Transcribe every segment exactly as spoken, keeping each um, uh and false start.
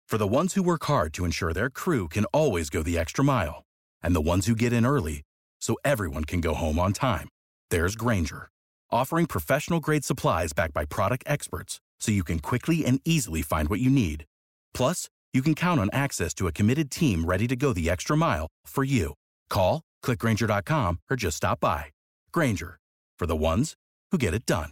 For the ones who work hard to ensure their crew can always go the extra mile, and the ones who get in early so everyone can go home on time, there's Grainger, offering professional-grade supplies backed by product experts so you can quickly and easily find what you need. Plus, you can count on access to a committed team ready to go the extra mile for you. Call, click Grainger dot com, or just stop by. Grainger, for the ones who get it done.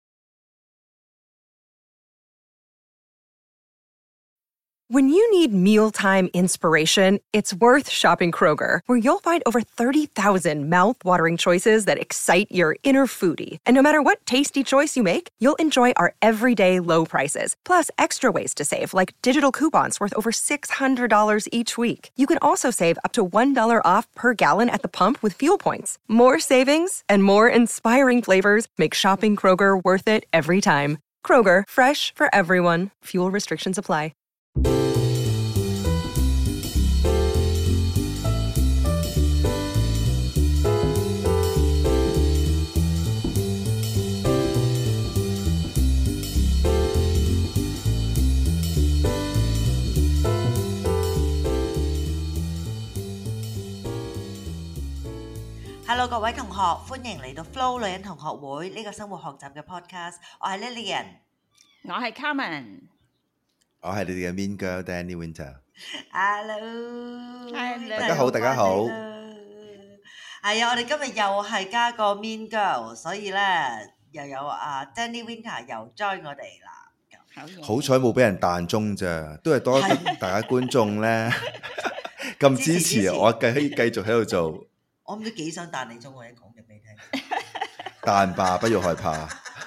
When you need mealtime inspiration, it's worth shopping Kroger, where you'll find over thirty thousand mouth-watering choices that excite your inner foodie. And no matter what tasty choice you make, you'll enjoy our everyday low prices, plus extra ways to save, like digital coupons worth over six hundred dollars each week. You can also save up to one dollar off per gallon at the pump with fuel points. More savings and more inspiring flavors make shopping Kroger worth it every time. Kroger, fresh for everyone. Fuel restrictions apply. Hello 各位同學，歡迎嚟到 Flo 女人同學會呢個生活學習嘅 podcast。我係 Lillian， 我係 Carmen， 我係你哋嘅 Mean Girl Danny Winter。Hello， 大家好，大家好。 係啊，我哋今日又係加個 Mean Girl， 所以咧又有啊 Danny Winter 又 join 我哋啦。 好彩冇俾人彈鐘咋，都係多大家觀眾咧咁支持，我繼繼續喺度做。 我唔知幾想彈你鐘，我一講嘅俾你聽。 彈吧，不要害怕。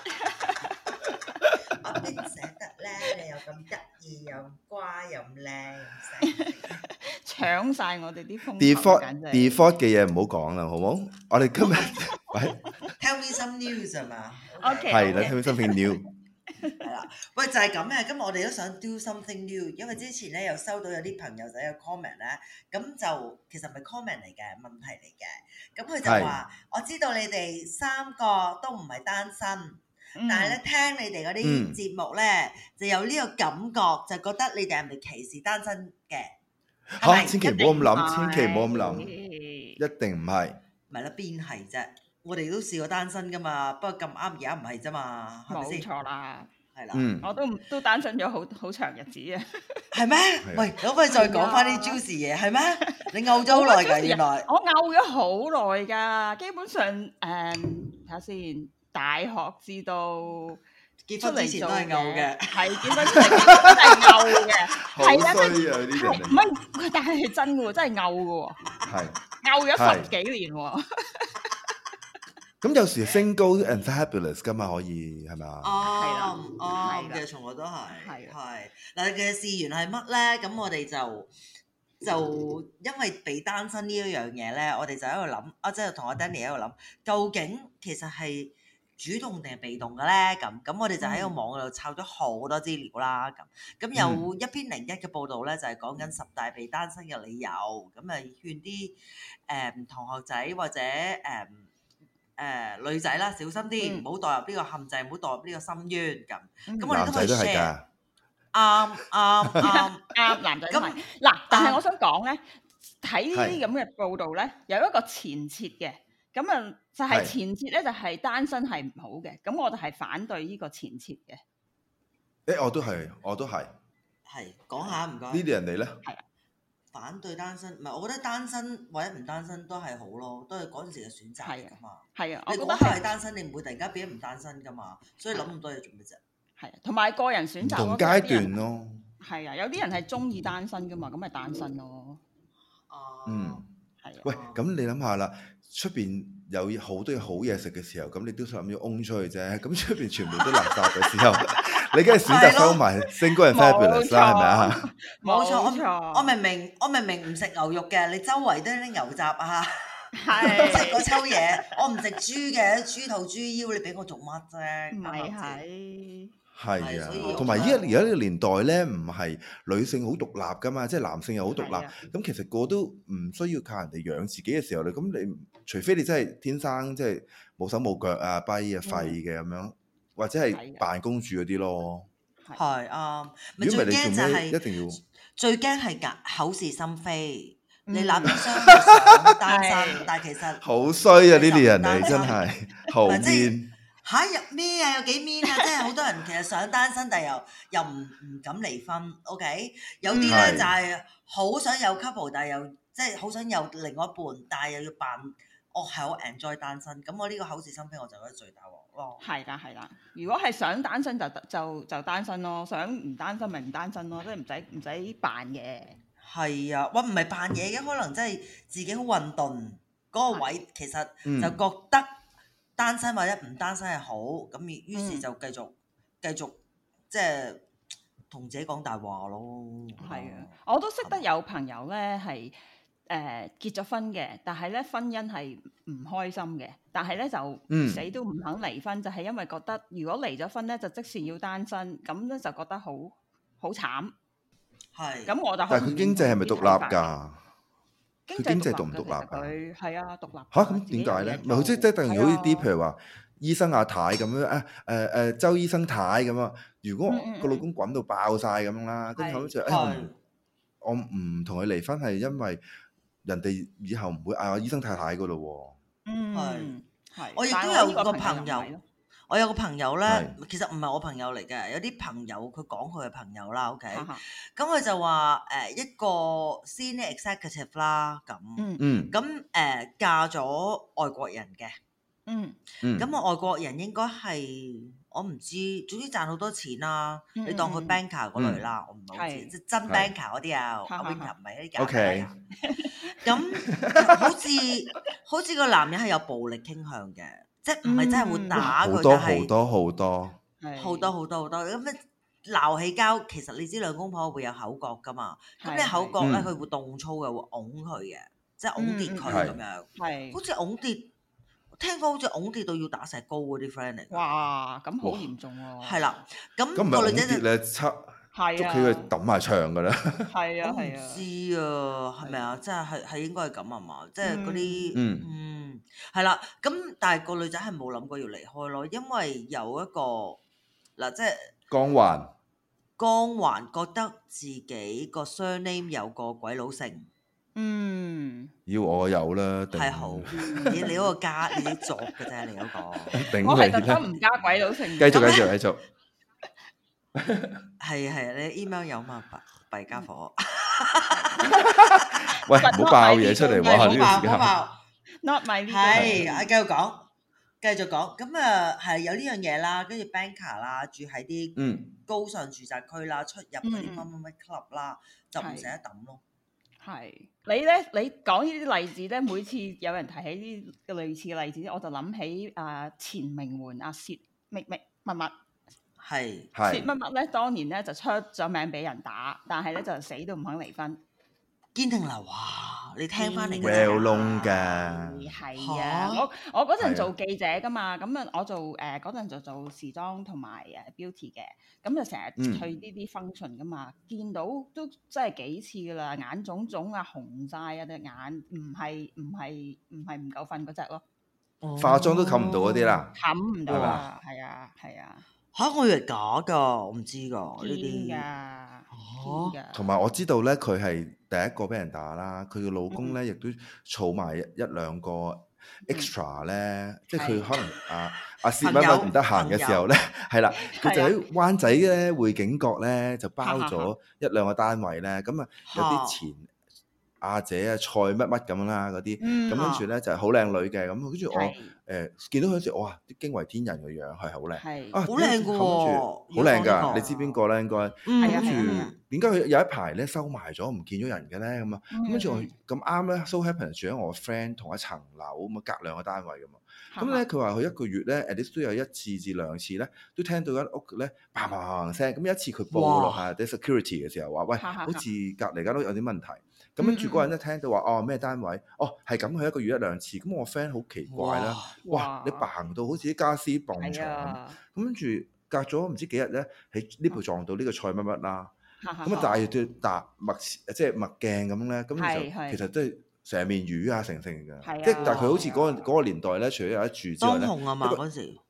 我邊捨得咧？你又咁得意，又乖，又咁靚，又搶晒我哋啲風。 Default default 嘅嘢唔好講啦，好冇？我哋今日喂 ，Tell me some news 係嘛 ？OK， 係啦 ，Tell me something new。 係啦，喂，就係咁嘅。今日我哋都想 do something new， 因為之前咧又收到有啲朋友仔嘅 comment 咧，咁就其實唔係 comment 嚟嘅，問題嚟嘅。咁佢就話：我知道你哋三個都唔係單身，嗯、但係咧聽你哋嗰啲節目咧，嗯、就有呢個感覺，就覺得你哋係咪歧視單身嘅？ 嚇、啊！千祈唔好咁諗，千祈唔好咁諗，一定唔係。 咪啦，邊係啫？我哋都試過單身噶嘛，不過咁啱而家唔係啫嘛，係咪先？ 冇錯啦， 係啦， 嗯， 我都都單身咗好好長日子啊。 係咩？喂，可唔可以再講翻啲 juicy 嘢？係咩？你嘔咗好耐㗎，原來我嘔咗好耐㗎，基本上誒睇下先，大學至到結婚之前都係嘔嘅， 係結婚之前都係嘔嘅，係啊， 衰啊呢啲人， 唔係，但係係真嘅喎，真係嘔嘅喎， 係嘔咗十幾年喎。 咁有時 single and fabulous 噶嘛，可以係咪啊？ 哦， 係啦， 哦，其實從來都係， 係係嗱，其實事緣係乜咧？咁我哋就就因為被單身呢一樣嘢咧，我哋就喺度諗，啊，即係同阿 Danny 喺度諗，究竟其實係主動定係被動嘅咧？咁咁我哋就喺個網度抄咗好多資料啦。咁咁有一篇零一嘅報導咧，就係講緊十大被單身嘅理由，咁啊勸啲誒同學仔或者誒。呃誒、呃、女仔啦，小心啲，唔好墮入呢個陷阱，唔好墮入呢個深淵咁。咁我哋都可以 share。啱啱啱啱，男仔都係。嗱，但係我想講咧，睇呢啲咁嘅報道咧，有一個前設嘅。咁啊，就係前設咧，就係單身係唔好嘅。咁我就係反對呢個前設嘅。 誒，我都係，我都係。 係講下唔該。 呢啲人哋咧？ 係啊。 反對單身，唔係我覺得單身或者唔單身都係好咯，都係嗰陣時嘅選擇嚟㗎嘛。 係啊， 你嗰刻係單身，你唔會突然間變咗唔單身㗎嘛，所以諗咁多嘢做咩啫？ 係啊，同埋個人選擇同階段咯。 係啊，有啲人係中意單身㗎嘛，咁咪單身咯。 哦。 嗯。 係啊。 喂，咁你諗下啦，出邊有好多好嘢食嘅時候，咁你都想諗住擁出去啫。咁出邊全部都垃圾嘅時候，你梗係選擇收埋 single and fabulous 啦，係咪啊？ 冇錯，我我明明我明明唔食牛肉嘅，你周圍都係啲牛雜啊， 係即係嗰抽嘢，我唔食豬嘅，豬肚豬腰，你俾我做乜啫？ 唔係係。 係啊，同埋依家而家呢個年代咧，唔係女性好獨立噶嘛，即係男性又好獨立。咁其實個都唔需要靠人哋養自己嘅時候咧，咁你除非你真係天生即係冇手冇腳啊、跛啊、廢嘅咁樣，或者係扮公主嗰啲咯。 係啱。 如果唔係你做咩一定要？ 最驚係隔口是心非。 嗯你諗起雙想單身，但係其實好衰啊！呢啲人嚟真係好面嚇入咩啊？有幾面啊？即係好多人其實想單身，但係又又唔唔敢離婚。OK，有啲咧係就係好想有 couple，但係又即係好想有另外一半，但係又要扮我係好 enjoy 單身。咁我呢個口是心非，我就覺得最大鑊咯。 係啦係啦，如果係想單身就就就單身咯，想唔單身咪唔單身咯，即係唔使唔使扮嘅。 係啊，哇唔係扮嘢嘅，可能真係自己好混沌嗰個位，其實就覺得單身或者唔單身係好，咁於是就繼續繼續即係同自己講大話咯。 係啊，我都識得有朋友咧係誒結咗婚嘅，但係咧婚姻係唔開心嘅，但係咧就死都唔肯離婚，就係因為覺得如果離咗婚咧就即時要單身，咁咧就覺得好好慘。 係， 咁我就但係佢經濟係咪獨立㗎？佢經濟獨唔獨立啊？ 佢係啊，獨立嚇咁點解咧？咪好即即係等於好似啲譬如話醫生阿太咁樣啊誒誒周醫生太咁啊。如果個老公滾到爆晒咁樣啦，跟住後尾就誒我唔同佢離婚係因為人哋以後唔會嗌我醫生太太㗎咯喎。 嗯， 係係。我亦都有個朋友。我有個朋友咧， 是其實唔係我朋友嚟嘅，有啲朋友佢講佢嘅朋友啦 ，OK，咁佢就話誒、呃、一個 senior executive 啦，咁， 嗯， 咁誒、呃、嫁咗外國人嘅， 嗯， 咁啊外國人應該係我唔知，總之賺好多錢啦，嗯、你當佢 banker 嗰類啦，嗯、我唔係好知，即係真 banker 嗰啲啊，阿 Winter 唔係嗰啲假 banker，咁好似好似個男人係有暴力傾向嘅。即係唔係真係會打佢， 但係好多好多好多好多好多咁咧鬧起交，其實你知兩公婆會有口角噶嘛？咁你口角咧，佢會動粗嘅，會擁佢嘅，即係擁跌佢咁樣。係，好似擁跌，聽講好似擁跌到要打石膏嗰啲 friend 嚟。 哇！咁好嚴重喎。係啦，咁咁唔係擁跌咧，七捉起佢揼埋牆㗎啦。 係啊係啊，唔知啊，係咪啊？即係係係應該係咁啊嘛？即係嗰啲嗯。嗯，係啦，咁但係個女仔係冇諗過要離開咯，因為有一個嗱，即係光環， 光環覺得自己個 surname 有個鬼佬姓， 嗯， 要我有啦， 係好，你你嗰個加你啲作嘅啫，你嗰個， 我係特登唔加鬼佬姓， 繼續繼續繼續， 係係你 email 有嘛？弊弊家伙， 喂，唔好爆嘢出嚟喎，呢個時間。 Not my 係，啊繼續講，繼續講，咁啊係有呢樣嘢啦，跟住 banker 啦，住喺啲高尚住宅區啦，出入嗰啲乜乜乜 club 啦，就唔捨得抌咯。 係你咧，你講呢啲例子咧，每次有人提起呢個類似嘅例子，我就諗起啊前名媛阿薛乜乜乜乜， 係薛乜乜咧，當年咧就出咗名俾人打，但係咧就死都唔肯離婚。 堅定流哇！你聽翻嚟嘅 well known 㗎， 係啊！我我嗰陣做記者㗎嘛，咁啊我做誒嗰陣就做時裝同埋誒 beauty 嘅，咁就成日去呢啲 function 㗎嘛，見到都真係幾次㗎啦，眼腫腫啊，紅晒啊隻眼，唔係唔係唔係唔夠瞓嗰隻咯， 化妝都冚唔到嗰啲啦， 冚唔到啊，係啊係啊嚇！我以為假㗎，我唔知㗎呢啲㗎， 同埋我知道咧，佢係第一個俾人打啦，佢嘅老公咧亦都儲埋一一兩個 extra 咧，即係佢可能啊阿薛乜乜唔得閒嘅時候咧，係啦，佢就喺灣仔咧匯景閣咧就包咗一兩個單位咧，咁啊有啲前阿姐啊蔡乜乜咁啦嗰啲，咁跟住咧就係好靚女嘅，咁跟住我誒見到佢嗰時，哇！驚為天人嘅樣係好靚，啊好靚嘅喎， 好靚㗎！你知邊個咧？應該跟住點解佢有一排咧收埋咗，唔見咗人嘅咧？咁啊，跟住我咁啱咧，so happen 住喺我 friend 同一層樓咁啊，隔兩個單位㗎嘛。咁咧佢話佢一個月咧 at least 都有一次至兩次咧，都聽到間屋咧嘭嘭嘭聲。咁一次佢報落下啲 security 嘅時候話：喂，好似隔離間屋有啲問題。咁跟住嗰人一聽到話哦咩單位，哦係咁，佢一個月一兩次。咁我 friend 好奇怪啦，哇！你嘭到好似啲家私蹦牆咁。咁跟住隔咗唔知幾日咧，喺 lift 撞到呢個蔡乜乜啦。咁啊戴對搭墨即係墨鏡咁咧，咁就其實都係成面魚啊成成嘅。即係但係佢好似嗰個嗰個年代咧，除咗有得住之外咧， 當紅啊嘛嗰時。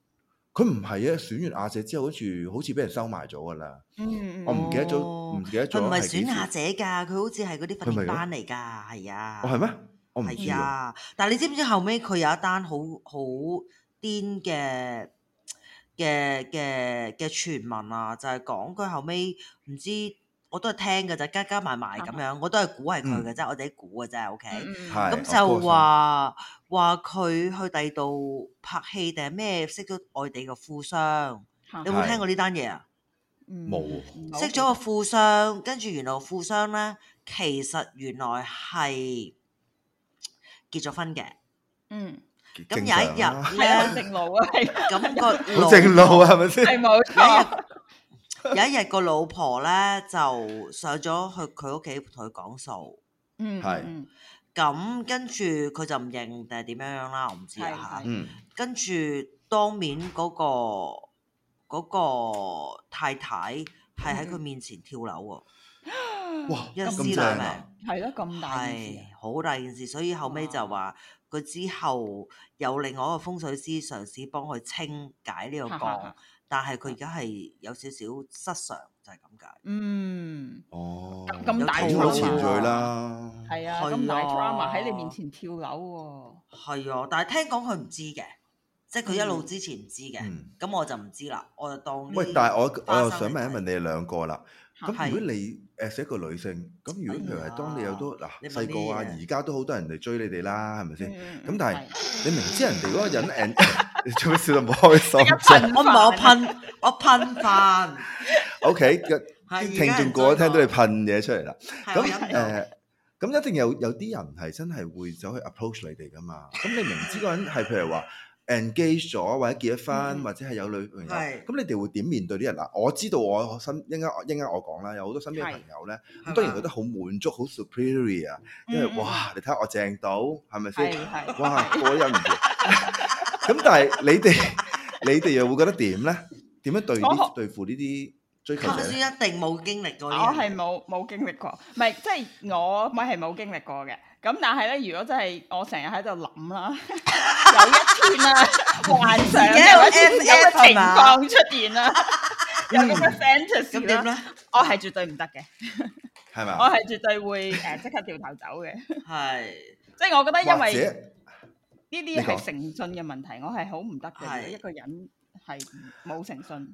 佢唔係啊，選完亞姐之後，好似好似俾人收埋咗㗎啦。 嗯， 我唔記得咗，唔記得咗。 佢唔係選亞姐㗎，佢好似係嗰啲訓練班嚟㗎，係啊。 哦，係咩？我唔知係啊。但係你知唔知後尾佢有一單好好癲嘅嘅嘅嘅傳聞啊？就係講佢後尾唔知。我都係聽嘅啫，加加埋埋咁樣，我都係估係佢嘅啫，我哋估嘅啫，OK。咁就話話佢去第二度拍戲定係咩？識咗外地嘅富商，你有冇聽過呢單嘢啊？ 冇。 識咗個富商，跟住原來富商咧，其實原來係結咗婚嘅。嗯。咁有一日咧， 正路啊，係。 咁個好正路係咪先？ 係冇錯。 有一日個老婆咧就上咗去佢屋企同佢講數， 嗯， 係， 咁跟住佢就唔認定係點樣樣啦，我唔知啊， 嗯， 跟住當面嗰個嗰個太太係喺佢面前跳樓喎， 哇， 一屍兩命， 係咯，咁大件事， 係好大件事，所以後尾就話佢之後有另外一個風水師嘗試幫佢清解呢個降。但係佢而家係有少少失常，就係咁解。 嗯， 哦， 咁大好前序啦。 係啊，咁大 drama 喺你面前跳樓喎。 係啊，但係聽講佢唔知嘅，即係佢一路之前唔知嘅。咁我就唔知啦，我就當。 喂，但係我我又想問一問你哋兩個啦。咁如果你誒係一個女性，咁如果譬如係當你有多嗱細個啊，而家都好多人嚟追你哋啦，係咪先？咁但係你明知人哋嗰個人誒，你做咩笑到唔開心？ 我唔係我噴，我噴飯。 O K，啲聽眾個個聽到你噴嘢出嚟啦。咁誒，咁一定有有啲人係真係會走去 approach 你哋噶嘛？咁你明知嗰個人係譬如話engage 咗或者結咗婚或者係有女朋友，咁你哋會點面對啲人嗱？我知道我身應該應該我講啦，有好多身邊嘅朋友咧，咁當然覺得好滿足、好 superior 啊，因為哇，你睇下我正到係咪先？哇，過癮唔住。咁但係你哋你哋又會覺得點咧？點樣對啲對付呢啲追求者？ 頭先一定冇經歷過， 我係冇冇經歷過，唔係即係我咪係冇經歷過嘅。咁但係咧，如果真係我成日喺度諗啦，有一天啦，幻想有一天有個情況出現啦，有咁嘅 fantasy 點咧？ 我係絕對唔得嘅， 係咪？ 我係絕對會誒即刻掉頭走嘅。 係， 即係我覺得因為呢啲係誠信嘅問題，我係好唔得嘅。一個人係冇誠信。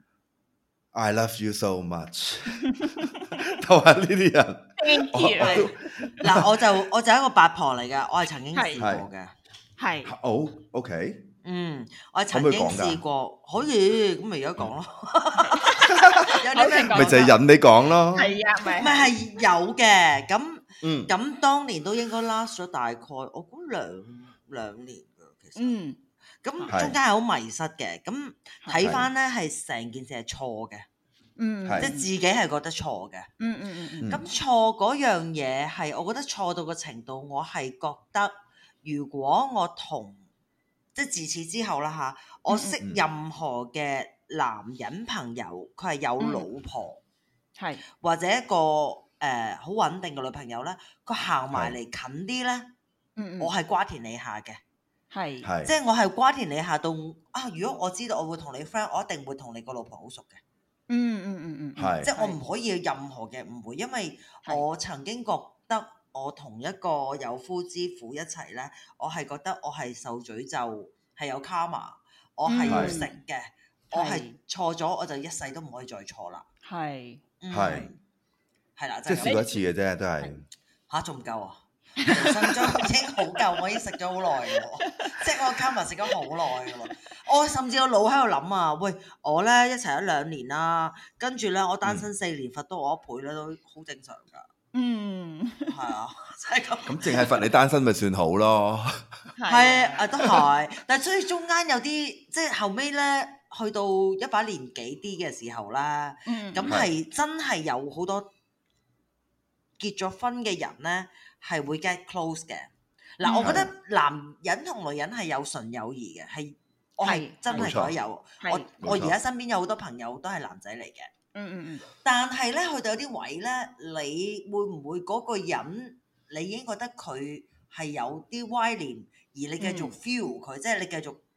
I love you so much，都係呢啲人。 Thank you。 嗱，我就我就係一個八婆嚟㗎，我係曾經試過嘅。 係。 好 OK。 嗯，我係曾經試過，可以咁咪而家講咯。有啲咩講？ 咪就係引你講咯。 係啊，咪咪係有嘅。咁嗯，咁當年都應該 last 咗大概我估兩兩年㗎，其實。嗯。咁中間係好迷失嘅，咁睇翻咧係成件事係錯嘅，嗯，即係自己係覺得錯嘅，嗯嗯嗯，咁錯嗰樣嘢係我覺得錯到個程度，我係覺得如果我同即係自此之後啦嚇，我識任何嘅男人朋友，佢係有老婆，係、嗯、或者一個誒好、呃、穩定嘅女朋友咧，佢行埋嚟近啲咧，嗯嗯，我係瓜田李下嘅。係，即係我係瓜田李下到啊！如果我知道我會同你 friend，我一定會同你個老婆好熟嘅。嗯嗯嗯嗯，係，即係我唔可以有任何嘅誤會，因為我曾經覺得我同一個有夫之婦一齊咧，我係覺得我係受詛咒，係有 karma，我係要食嘅，我係錯咗我就一世都唔可以再錯啦。係，係，係啦，即係試過一次嘅啫，都係嚇仲唔夠啊！人生中已經好夠，我已經食咗好耐嘅喎，即係我 karma 食咗好耐嘅喎。我甚至個腦喺度諗啊，喂，我咧一齊咗兩年啦，跟住咧我單身四年，罰多我一倍咧都好正常㗎。嗯，係啊，就係咁。咁淨係罰你單身咪算好咯？係啊，都係。但係所以中間有啲即係後尾咧，去到一把年紀啲嘅時候啦，咁係真係有好多結咗婚嘅人咧。係會 get close 嘅嗱，嗯、我覺得男人同女人係有純友誼嘅，係我係真係覺得有。我我而家身邊有好多朋友都係男仔嚟嘅，嗯嗯嗯。但係咧，去到有啲位咧，你會唔會嗰個人你已經覺得佢係有啲歪念，而你繼續 feel 佢，嗯、即係你繼續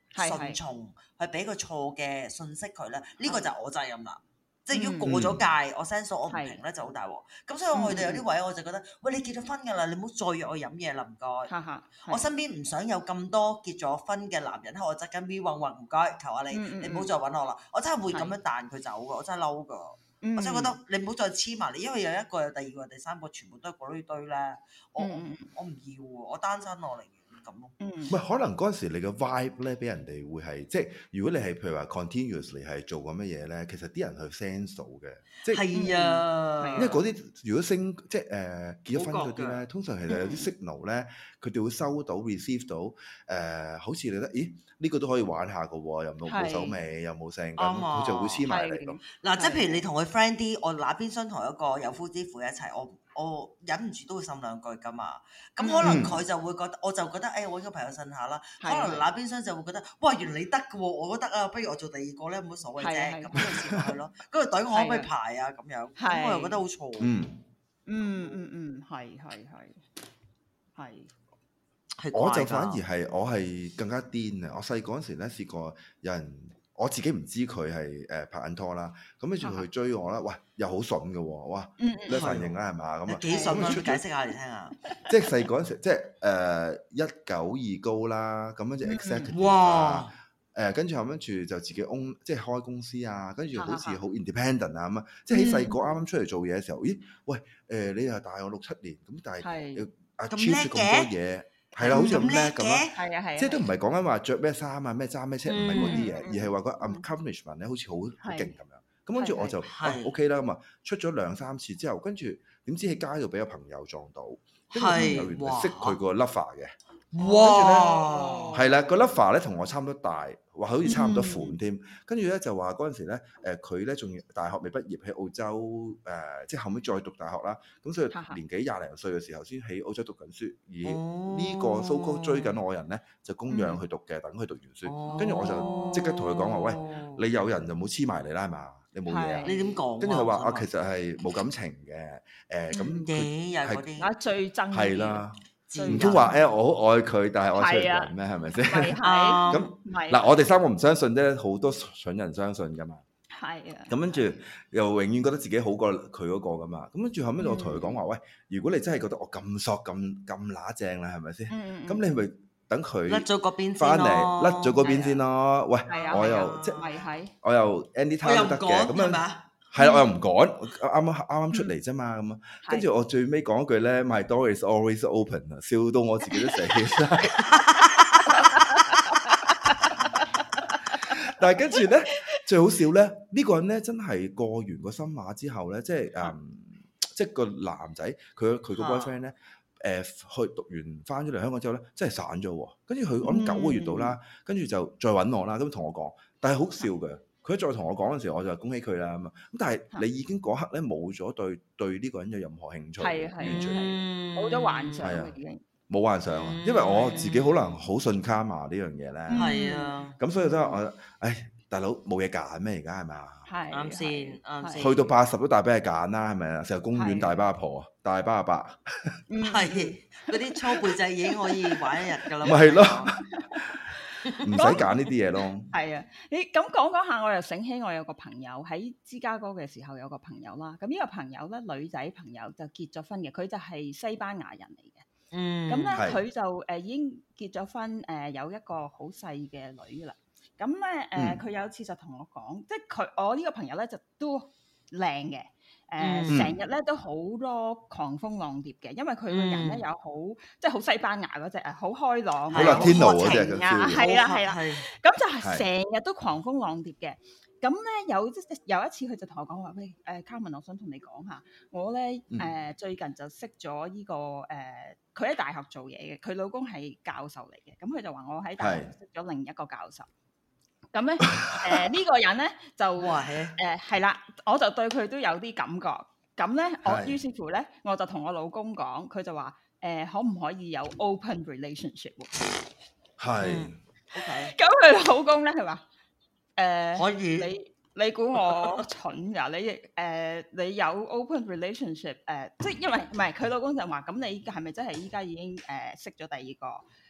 順從，去俾個錯嘅信息佢咧，呢、呢個就係我責任啦。即係如果過咗界，我 sense 我唔平咧就好大鑊。咁所以我去到有啲位我就覺得，喂，你結咗婚㗎啦，你唔好再約我飲嘢啦，唔該。我身邊唔想有咁多結咗婚嘅男人喺我側跟 V 混混，唔該，求下你，你唔好再揾我啦。我真係會咁樣彈佢走㗎，我真係嬲㗎。我真係覺得你唔好再黐埋你，因為有一個、有第二個、第三個，全部都係嗰堆堆咧。我我唔要喎，我單身我嚟。 唔係可能嗰陣時你嘅 vibe 咧，俾人哋會係即係如果你係譬如話 continuously 係做緊乜嘢咧，其實啲人去 sense 到嘅，即係係啊， 因為嗰啲如果升即係誒、呃、結咗婚嗰啲咧，通常其實有啲 signal 咧，佢哋會收到 receive 到誒、呃，好似你覺得咦呢、呢個都可以玩下嘅喎，又冇冇手尾，又冇聲咁，佢就會黐埋嚟咁。 嗱，即係譬如你同佢 friend 啲，我那邊想同一個有夫之婦一齊，我。我忍唔住都會呻兩句㗎嘛，咁可能佢就會覺得，我就覺得，誒、哎，我呢個朋友呻下啦。可能那邊廂就會覺得，哇，原來你得嘅喎，我都得啊，不如我做第二個咧，冇乜所謂啫，咁就接落去咯。嗰個隊我可唔可以排啊？咁樣，咁我又覺得好錯。 嗯嗯嗯嗯，係係係係。 我就反而係我係更加癲啊！我細個嗰陣時咧試過有人。我自己唔知佢係誒拍緊拖啦，咁跟住佢追我啦，喂，又好筍嘅喎，哇，你反應啦係嘛？咁啊幾筍啊？解釋下嚟聽下。 即係細嗰陣時，即係誒一九二高啦，咁跟住 executive 啊，誒跟住後跟住就自己 own 即係開公司啊，跟住好似好 independent 啊咁啊，即係喺細個啱啱出嚟做嘢嘅時候，咦，喂，誒你又大我六七年，咁但係要 achieve 咁多嘢。係啦，好似咁叻咁啦， 係啊係啊，即係都唔係講緊話着咩衫啊、咩揸咩車，唔係嗰啲嘢，而係話個 accomplishment 咧，好似好好勁咁樣。咁跟住我就 OK 啦，咁啊出咗兩三次之後，跟住點知喺街度俾個朋友撞到，跟住朋友原來識佢個 lover 嘅。哇！係啦，個 lover 咧同我差唔多大，話好似差唔多款添。跟住咧就話嗰陣時咧，誒佢咧仲大學未畢業喺澳洲誒，即係後尾再讀大學啦。咁所以年紀廿零歲嘅時候先喺澳洲讀緊書。而呢個 so called 追緊我人咧，就供養佢讀嘅，等佢讀完書。跟住我就即刻同佢講話：喂，你有人就冇黐埋嚟啦，係嘛？你冇嘢啊？ 你點講？ 跟住佢話：啊，其實係冇感情嘅。誒咁佢係啊最憎係啦。唔通話誒我好愛佢，但係我出人咩？係咪先？ 係咁嗱，我哋三個唔相信啫，好多蠢人相信噶嘛。 係啊。咁跟住又永遠覺得自己好過佢嗰個噶嘛。咁跟住後尾我同佢講話：喂，如果你真係覺得我咁索咁咁乸正啦，係咪先？咁你咪等佢甩咗嗰邊翻嚟，甩咗嗰邊先咯。喂，我又即係我又 anytime 都得嘅。咁樣。係啦，我又唔趕，啱啱啱啱出嚟啫嘛，咁啊，跟住我最尾講一句咧 ，My door is always open 啊，笑到我自己都死晒。但係跟住咧，最好笑咧，呢個人咧真係過完個新馬之後咧，即係誒，即係個男仔，佢佢個 boyfriend 咧，誒去讀完翻咗嚟香港之後咧，真係散咗喎。跟住佢我諗九個月到啦，跟住就再揾我啦，咁同我講，但係好笑嘅。佢再同我講嗰陣時，我就恭喜佢啦咁啊！咁但係你已經嗰刻咧冇咗對對呢個人有任何興趣， 係係完全冇咗幻想啦已經。 冇幻想啊！因為我自己可能好信卡嘛呢樣嘢咧。 係啊。 咁所以都係我，唉，大佬冇嘢揀咩而家係咪啊？ 係啱先，啱先。 去到八十都大俾你揀啦，係咪啊？成日公園大巴阿婆，大巴阿伯。 係嗰啲粗背仔已經可以玩一日㗎啦。 咪係咯。唔使揀呢啲嘢咯。 係啊，你咁講講下，我又醒起我有個朋友喺芝加哥嘅時候有個朋友啦。咁呢個朋友咧，女仔朋友就結咗婚嘅，佢就係西班牙人嚟嘅。嗯，咁咧佢就誒、呃、已經結咗婚，誒、呃、有一個好細嘅女啦。咁咧誒，佢、呃、有一次就同我講，即係佢我呢個朋友咧就都靚嘅。誒成日咧都好多狂蜂浪蝶嘅，因為佢個人咧有好即係好西班牙嗰隻啊，好開朗， 好 Latino 嗰隻啊，係啦係啦，咁就係成日都狂蜂浪蝶嘅。咁咧有有一次佢就同我講話，喂誒 Carmen，我想同你講下，我咧誒最近就識咗呢個誒，佢喺大學做嘢嘅，佢老公係教授嚟嘅，咁佢就話我喺大學識咗另一個教授。咁咧，誒呢個人咧就誒係啦，我就對佢都有啲感覺。咁咧，我於是乎咧，我就同我老公講，佢就話誒可唔可以有 open relationship？ 係。 OK。咁佢老公咧，佢話誒可以。 你你估我蠢㗎？你誒你有 open relationship 誒？即係因為唔係佢老公就話，咁你係咪真係依家已經誒識咗第二個？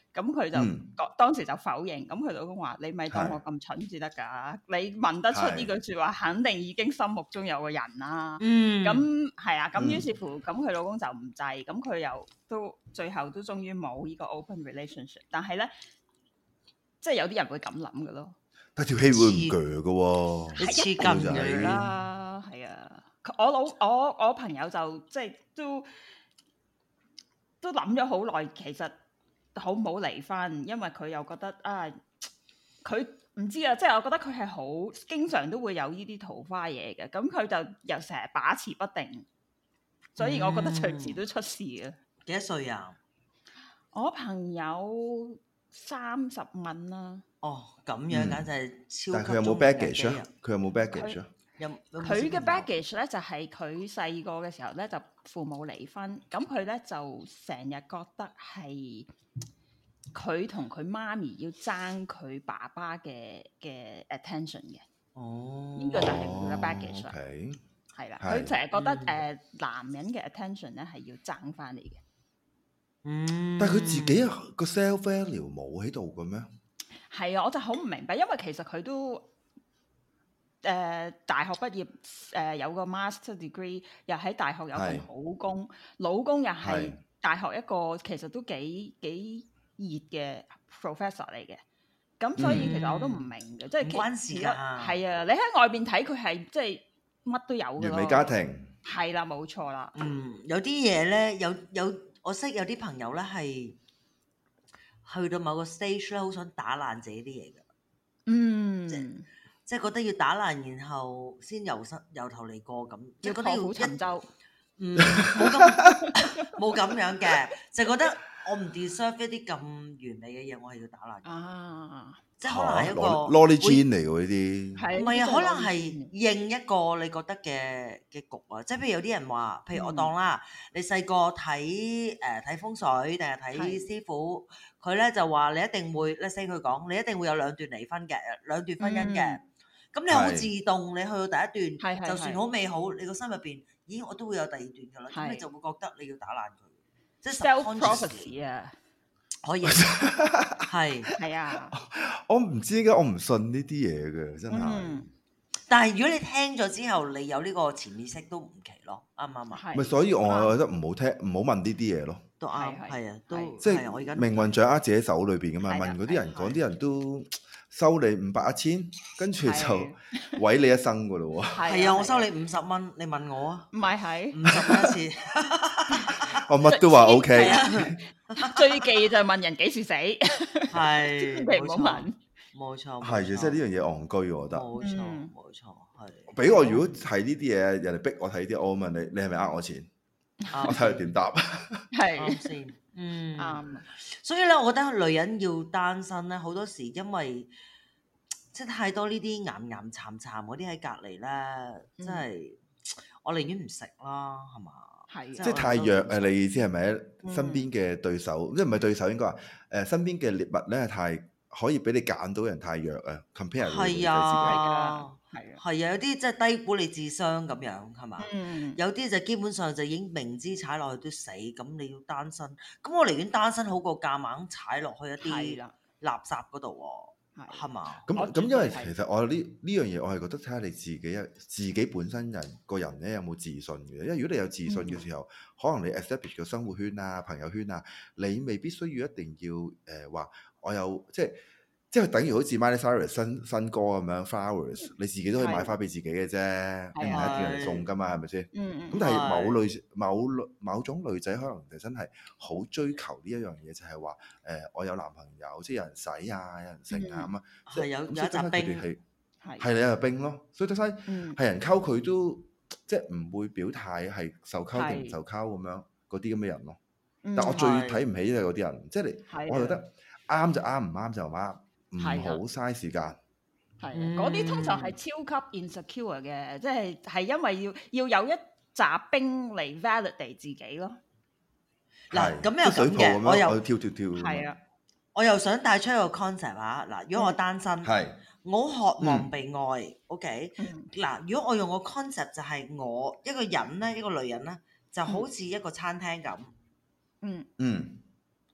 咁佢就、 嗯、 當時就否認，咁佢老公話：你咪當我咁蠢至得㗎，你問得出呢句説話，肯定已經心目中有個人啦。 嗯， 咁係啊，咁於是乎，咁佢老公就唔制，咁佢又都最後都終於冇呢個 open relationship。但係咧，即係有啲人會咁諗嘅咯。 但條氣會唔鋸嘅喎， 你黐筋嘅啦，係啊。我老我我朋友就即係都都諗咗好耐，其實好唔好離婚，因為佢又覺得啊，佢唔知啊，即係我覺得佢係好經常都會有呢啲桃花嘢嘅，咁佢就又成日把持不定，所以我覺得隨時都出事啊。 幾多歲啊？ 我朋友三十蚊啦。 哦，咁樣簡直係超級。 但係佢有冇 baggage 啊？佢有冇 baggage 啊？ 佢嘅 baggage 咧就係佢細個嘅時候咧就父母離婚，咁佢咧就成日覺得係佢同佢媽咪要爭佢爸爸嘅嘅 attention 嘅。 哦， 呢個就係佢嘅 baggage 啦。係啦，佢成日覺得誒、呃、男人嘅 attention 咧係要爭翻嚟嘅。 嗯， 但係佢自己個 self value 冇喺度嘅咩？係啊，我就好唔明白，因為其實佢都誒、呃、大學畢業，誒、呃、有個 master degree， 又喺大學有份好工，老公又係大學一個其實都幾幾熱嘅 professor 嚟嘅。咁所以其實我都唔明嘅，嗯、即係唔關事㗎。 係啊，你喺外邊睇佢係即係乜都有嘅咯。 完美家庭係啦，冇錯啦。 嗯，有啲嘢咧，有有我識有啲朋友咧係去到某個 stage 咧，好想打爛自己啲嘢㗎。 嗯， 即即係覺得要打爛，然後先由新由頭嚟過咁，即係覺得要沉舟。 嗯，冇咁冇咁樣嘅，就覺得我唔 deserve 一啲咁完美嘅嘢，我係要打爛。 啊， 即係可能係一個 Lolly Jean 嚟㗎呢啲， 唔係啊，可能係應一個你覺得嘅嘅局啊。即係譬如有啲人話，譬如我當啦，你細個睇誒睇風水定係睇師傅，佢咧就話你一定會 let's say 佢講，你一定會有兩段離婚嘅，兩段婚姻嘅。咁你好自動，你去到第一段，就算好美好，你個心入邊，咦，我都會有第二段㗎啦。咁你就會覺得你要打爛佢，即係 self prophecy 啊， 可以係係啊。 我唔知點解我唔信呢啲嘢嘅，真係。 嗯，但係如果你聽咗之後，你有呢個潛意識都唔奇咯，啱唔啱啊？ 咪所以我覺得唔好聽，唔好問呢啲嘢咯。 都啱，係啊，都即係我而家命運掌握自己手裏邊㗎嘛。問嗰啲人講，啲人都收你五百一千，跟住就毀你一生㗎咯喎。 係啊，我收你五十蚊，你問我啊？ 唔係係五十蚊一次。 我乜都話 OK。 最忌就係問人幾時死， 係千祈唔好問。 冇錯， 係嘅，即係呢樣嘢戇居，我覺得。 冇錯，冇錯，係。 俾我如果睇呢啲嘢，人哋逼我睇啲，我問你，你係咪呃我錢？我睇佢點答。 係先，嗯啱。 所以咧，我覺得女人要單身咧，好多時因為即係太多呢啲岩岩慘慘嗰啲喺隔離咧，真係我寧願唔食啦，係嘛？ 係， 即係太弱誒！你意思係咪身邊嘅對手，即係唔係對手應該話誒身邊嘅獵物咧，太可以俾你揀到人太弱啊 ！compare 係啊， 係啊， 係啊，有啲即係低估你智商咁樣係嘛？ 嗯， 有啲就基本上就已經明知踩落去都死，咁你要單身，咁我寧願單身好過夾硬踩落去一啲垃圾嗰度喎。係嘛？ 咁咁，因為其實我呢呢樣嘢，我係覺得睇下你自己一自己本身人個人咧有冇自信嘅。因為如果你有自信嘅時候，嗯、可能你 establish 個生活圈啊、朋友圈啊，你未必需要一定要誒話、呃、我有即係即係等於好似 Miley Cyrus 新新歌咁樣 Flowers，你自己都可以買花俾自己嘅啫，你唔係一定人送噶嘛，係咪先？咁但係某女某某種女仔可能就真係好追求呢一樣嘢，就係話誒我有男朋友，即係有人使啊，有人剩啊咁啊， 係有有一紮兵， 係係你有兵咯，所以得曬係人溝佢都即係唔會表態係受溝定唔受溝咁樣嗰啲咁嘅人咯。但我最睇唔起就係嗰啲人，即係你我覺得啱就啱，唔啱就唔啱。唔好嘥時間， 係嗰啲通常係超級 insecure 嘅，即係係因為要要有一紮兵嚟 validate 自己咯。 嗱，咁又咁嘅，我又跳跳跳， 係啊， 我又想帶出一個 concept 啊。嗱，如果我單身， 係我渴望被愛，OK。嗱，如果我用個 concept 就係我一個人咧，一個女人咧，就好似一個餐廳咁， 嗯嗯。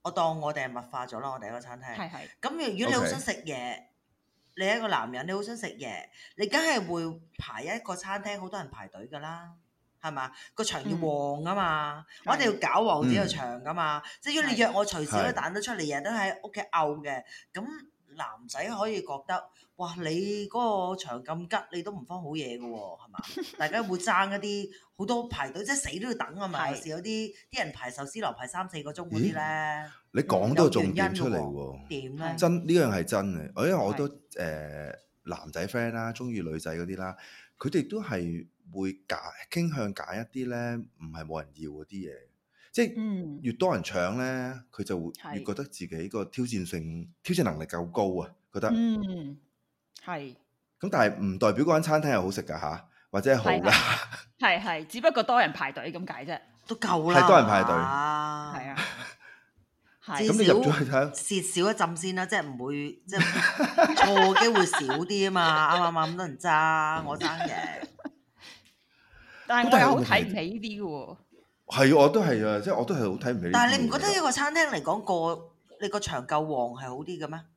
我當我哋係物化咗啦，我哋一個餐廳。 係係。 咁如果你好想食嘢，你係一個男人，你好想食嘢，你梗係會排一個餐廳，好多人排隊㗎啦。係嘛？個場要旺啊嘛，嗯、我哋要搞旺自己個場噶嘛。嗯、即係如果你約我隨時都彈得出嚟，日日都喺屋企漚嘅，咁男仔可以覺得，哇！你嗰個場咁吉，你都唔方好嘢嘅喎，係嘛？大家會爭一啲好多排隊，即係死都要等啊嘛。有時有啲啲人排壽司郎排三四個鐘嗰啲咧， 你講到重點出嚟喎。 點咧？ 真呢樣係真嘅，因為我都誒、呃、男仔 friend 啦，中意女仔嗰啲啦，佢哋都係。會揀傾向揀一啲咧，唔係冇人要嗰啲嘢，即係越多人搶咧，佢就會越覺得自己個挑戰性、挑戰能力夠高啊，覺得嗯係。咁但係唔代表嗰間餐廳係好食㗎嚇，或者係好㗎。 係係，只不過多人排隊咁解啫， 都夠啦。 係多人排隊， 係啊。 咁你入咗去睇， 蝕少一陣先啦，即係唔會即係錯機會少啲啊嘛，啱啱啱咁多人爭，我爭嘅。 但係我又好睇唔起呢啲嘅喎。 係，我都係啊，即係我都係好睇唔起。 但係你唔覺得一個餐廳嚟講個你個場夠旺係好啲嘅咩？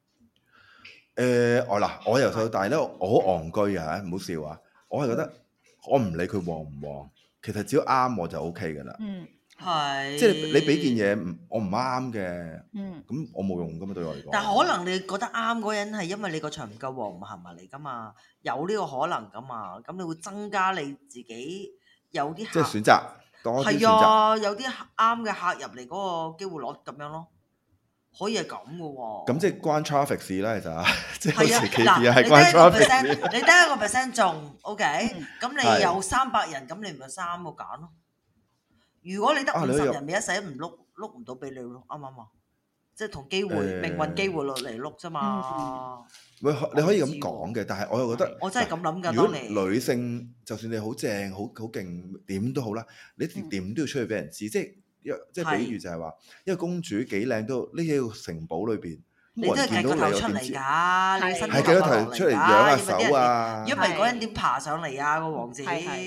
誒，我嗱，我由細到大咧，我好戇居啊，唔好笑啊！我係覺得我唔理佢旺唔旺，其實只要啱我就 O K 㗎啦。 嗯， 係。 即係你俾件嘢我唔啱嘅， 嗯， 咁我冇用㗎嘛，對我嚟講。 但係可能你覺得啱嗰人係因為你個場唔夠旺，唔行埋嚟㗎嘛，有呢個可能㗎嘛，咁你會增加你自己有啲即係選擇多啲選擇。係啊，有啲啱嘅客入嚟嗰個機會率咁樣咯。可以係咁嘅喎， 咁即係關 traffic 事啦，其實即係好似 K P I 係關 traffic 事。 你得一個 percent 中 ，OK，咁你有三百人，咁你咪三個揀咯。如果你得五十人，咪一世唔碌碌唔到俾你咯，啱唔啱啊？即係同機會、命運機會落嚟碌啫嘛。 喂，你可以咁講嘅，但係我又覺得， 我真係咁諗㗎。 如果女性，就算你好正、好好勁，點都好啦，你點都要出去俾人知，即係。即係比喻就係話，因為公主幾靚都匿喺個城堡裏邊，冇人見到你又點知？係幾多頭出嚟養下手啊？ 如果唔係嗰人點爬上嚟啊？個王子。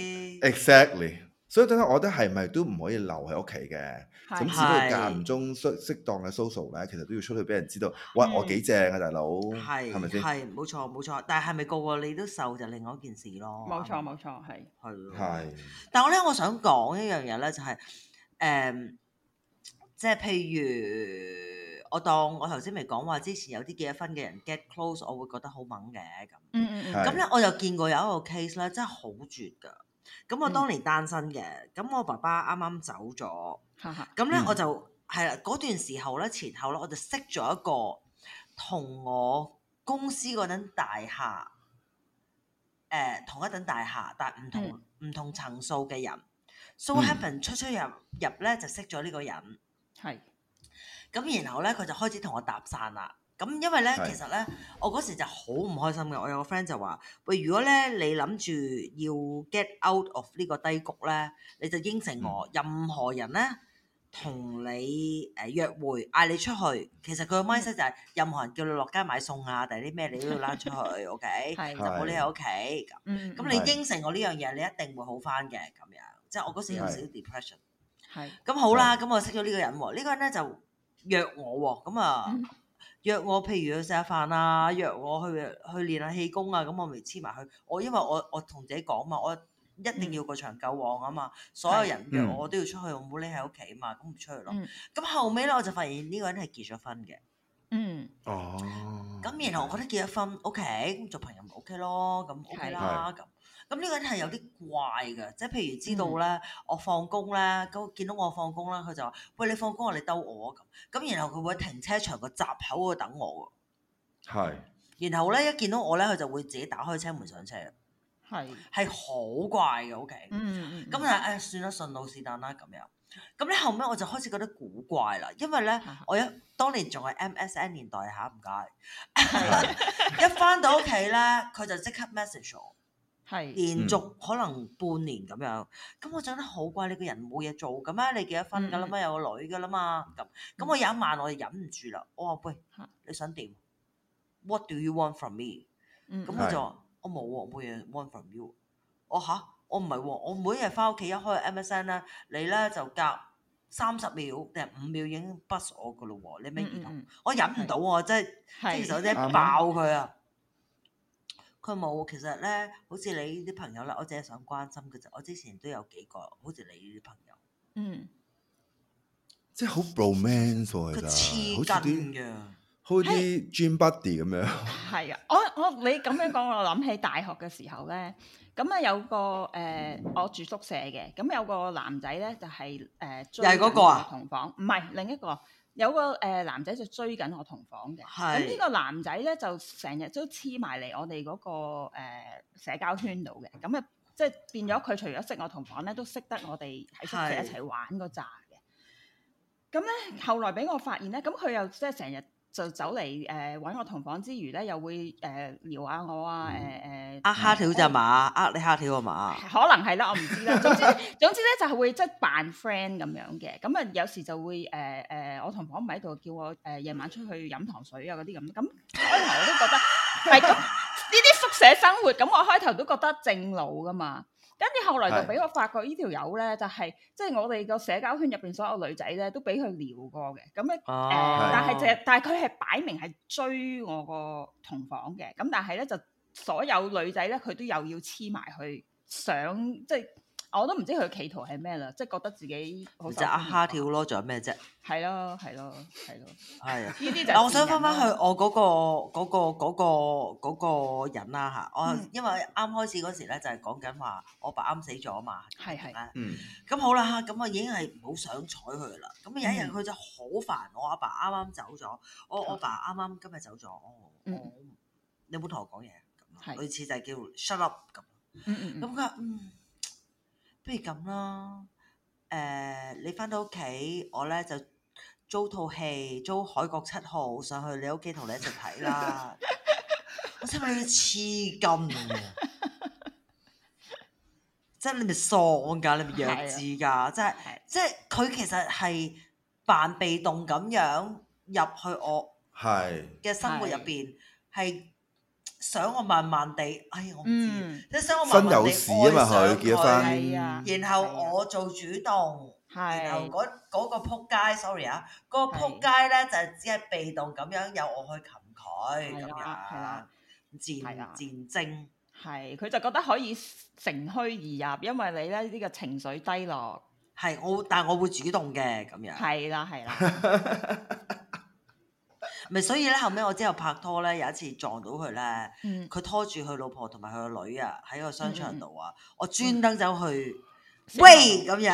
Exactly，所以等下我覺得係咪都唔可以留喺屋企嘅？咁只不過間唔中適適當嘅 social 咧，其實都要出去俾人知道，哇！我幾正啊，大佬，係咪先？ 係冇錯冇錯，但係係咪個個你都瘦就另外一件事咯？ 冇錯冇錯，係係係。 但係我咧，我想講一樣嘢咧，就係。誒、嗯，即係譬如我當我頭先咪講話，之前有啲結咗婚嘅人 get close，我會覺得好猛嘅咁。 嗯嗯嗯。 咁咧，我又見過有一個 case 咧，真係好絕㗎。咁我當年單身嘅，咁、嗯、我爸爸啱啱走咗。咁咧、嗯、我就係啦，嗰段時候咧，前後咧，我就識咗一個同我公司嗰等大廈，誒、呃、同一等大廈，但係唔同唔、嗯、同層數嘅人。So happen、嗯、出出入入咧就識咗呢個人， 係咁然後咧佢就開始同我搭訕啦。咁因為咧其實咧我嗰時就好唔開心嘅。我有個 friend 就話：喂，如果咧你諗住要 get out of 呢個低谷咧，你就應承我，嗯、任何人咧同你誒約會嗌你出去，其實佢個 mindset 就係任何人叫你落街買餸啊，定係啲咩你都要拉出去，OK，就唔好匿喺屋企咁。咁、嗯、你應承我呢樣嘢，你一定會好翻嘅咁樣。即係我嗰時有少少 depression，係咁好啦，咁我識咗呢個人喎，呢、呢個人咧就約我喎，咁啊、嗯、約我，譬如去食下飯啊，約我去去練下氣功啊，咁我咪黐埋去。我因為我我同自己講嘛，我一定要個場夠旺啊嘛，嗯、所有人約我，我都要出去，我唔好匿喺屋企啊嘛，咁唔出去咯。咁、嗯、後尾咧我就發現呢個人係結咗婚嘅。嗯。哦。咁然後我覺得結咗婚 OK，咁做朋友咪 OK 咯，咁 OK 啦咁。咁呢個人係有啲怪嘅，即係譬如知道咧，嗯、我放工咧，咁見到我放工啦，佢就話：喂，你放工啊，你兜我咁。咁然後佢會喺停車場個閘口嗰度等我喎。係。然後咧一見到我咧，佢就會自己打開車門上車。係。係好怪嘅 OK。嗯嗯。咁啊誒，算啦，順路是但啦咁樣。咁咧後尾我就開始覺得古怪啦，因為咧我一當年仲係 M S N 年代嚇，唔該。一翻到屋企咧，佢就即刻 message 我。係連續可能半年咁樣，咁、嗯、我覺得好怪，你個人冇嘢做嘅咩？你結咗婚㗎啦嘛，嗯、有個女㗎啦嘛，咁咁我有一晚我就忍唔住啦，我話喂，你想點 ？What do you want from me？咁佢、嗯、就話我冇喎，冇嘢 want from you。我吓？我唔係喎，我每日翻屋企一開 M S N 咧，你咧就夾三十秒定係五秒已經 bust 我噶咯喎，你咩兒童？ 嗯嗯我忍唔到喎，真係即係其實我真係爆佢啊！佢冇，其實咧，好似你呢啲朋友咧，我只係想關心嘅啫。我之前都有幾個，好似你呢啲朋友， 嗯， 即係好 romance 喎， 佢其實黐筋嘅， 好似啲 gym buddy 咁樣。 係啊，我我你咁樣講，我諗起大學嘅時候咧，咁啊有個誒、呃，我住宿舍嘅，咁有個男仔咧就係、是、誒、呃、追又係嗰個啊同房，唔係另一個。有個誒、呃、男仔就追緊我同房嘅，咁呢個男仔咧就成日都黐埋嚟我哋嗰、那個、呃、社交圈度嘅，咁啊即係變咗佢除咗識我同房咧，都識得我哋喺宿舍一齊玩嗰扎嘅。咁咧後來俾我發現咧，咁佢又即係成日就走嚟誒揾我同房之餘咧，又會誒、呃、撩下我啊誒誒。 呃蝦條咋嘛？呃你蝦條啊嘛？ 可能係啦，我唔知啦。總之總之咧就係會即係扮 friend 咁樣嘅。咁啊有時就會誒誒、呃呃，我同房唔喺度，叫我誒夜、呃、晚出去飲糖水啊嗰啲咁。咁開頭我都覺得係咁呢啲宿舍生活，咁我開頭都覺得正路噶嘛。跟住後來就俾我發覺呢條友咧，就係即係我哋個社交圈入邊所有女仔咧，都俾佢撩過嘅。咁咧誒，但係就但係佢係擺明係追我個同房嘅。咁但係咧就。所有女仔咧，佢都又要黐埋去，想即係我都唔知佢企圖係咩啦，即係覺得自己好就呃蝦條咯，仲有咩啫？ 係咯，係咯，係咯， 係啊！ 呢啲就嗱，我想翻翻去我嗰、嗰個嗰、嗰個嗰、嗰個嗰個人啦嚇，我、嗯、因為啱開始嗰時咧就係講緊話我爸啱死咗啊嘛， 係係， 嗯， 咁好啦，咁我已經係唔好想睬佢啦。咁有一日佢就好煩，我阿爸啱啱走咗，我我爸啱啱今日走咗，我、嗯、我你有冇同我講嘢？類似就係叫 shut up 咁，咁佢話嗯，不如咁啦，誒、呃、你翻到屋企，我咧就租套戲，租《海角七號》上去你屋企同你一齊睇啦。我心諗你黐筋啊！即係你咪喪㗎，你咪弱智㗎，即係即係佢其實係扮被動咁樣入去我嘅生活入邊係。想我慢慢地，哎我唔知，即係想我慢慢地愛上佢，然後我做主動，然後嗰嗰個撲街 sorry 啊，嗰個撲街咧就只係被動咁樣由我去擒佢咁樣，漸漸精， 係佢就覺得可以乘虛而入，因為你咧呢個情緒低落， 係我，但係我會主動嘅咁樣， 係啦係啦。 咪所以咧，後尾我之後拍拖咧，有一次撞到佢咧，佢、嗯、拖住佢老婆同埋佢個女啊，喺個商場度啊，嗯、我專登走去、嗯、喂咁樣，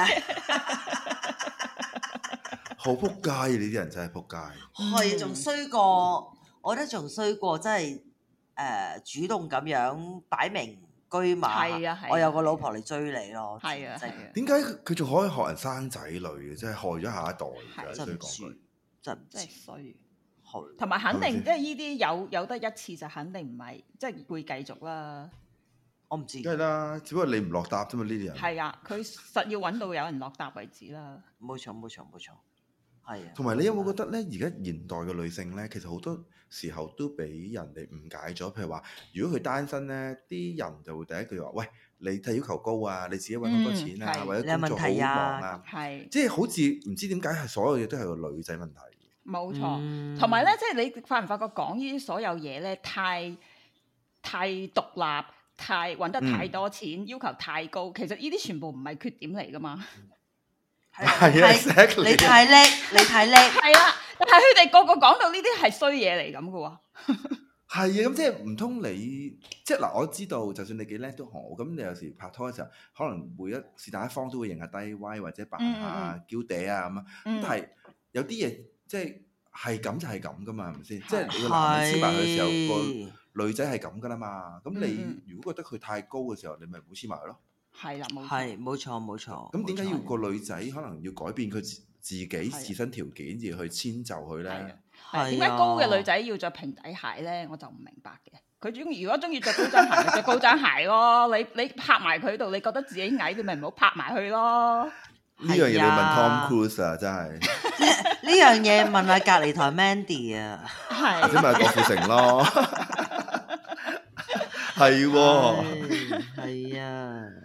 好撲街啊！呢啲人真係撲街， 係仲衰過，我覺得仲衰過，真係誒主動咁樣擺明居馬，啊啊、我有個老婆嚟追你咯， 係啊， 點解佢仲可以學人生仔女嘅？真係害咗下一代， 真唔知，真唔知衰。同埋肯定，即係呢啲有有得一次就肯定唔係，即係會繼續啦。 我唔知。 梗係啦，只不過你唔落搭啫嘛，呢啲人。 係啊，佢實要揾到有人落搭為止啦。 冇錯，冇錯，冇錯。係啊。 同埋你有冇覺得咧？而家現代嘅女性咧，其實好多時候都俾人哋誤解咗。譬如話，如果佢單身咧，啲人就會第一句話：喂，你睇要求高啊，你自己揾好多錢啊，或者工作好忙啊， 係。即係好似唔知點解係所有嘢都係個女仔問題。 冇錯，同埋咧，即係你發唔發覺講呢啲所有嘢咧，太太獨立，太揾得太多錢，嗯、要求太高，其實呢啲全部唔係缺點嚟噶嘛。 係啊， 你太叻，你太叻。 係啦，但係佢哋個個講到呢啲係衰嘢嚟咁噶喎。 係啊，咁即係唔通你即係嗱？我知道，就算你幾叻都好，咁你有時拍拖嘅時候，可能每一是但一方都會認下低威或者扮下嬌嗲啊咁啊，但係有啲嘢。即係係咁就係咁噶嘛，係咪先？即係你個男人黐埋佢嘅時候，個女仔係咁噶啦嘛。咁你如果覺得佢太高嘅時候，你咪唔好黐埋咯。 係啦，冇錯。 係冇錯冇錯。 咁點解要個女仔可能要改變佢自己自身條件而去遷就佢咧？ 係點解高嘅女仔要着平底鞋咧？我就唔明白嘅。佢中意如果中意着高踭鞋，咪着高踭鞋咯。你你拍埋佢度，你覺得自己矮，你咪唔好拍埋去咯。 呢樣嘢你問 Tom Cruise 啊，真係呢樣嘢問下隔離台 Mandy 啊， 或者問郭富城咯，係喎， 係啊，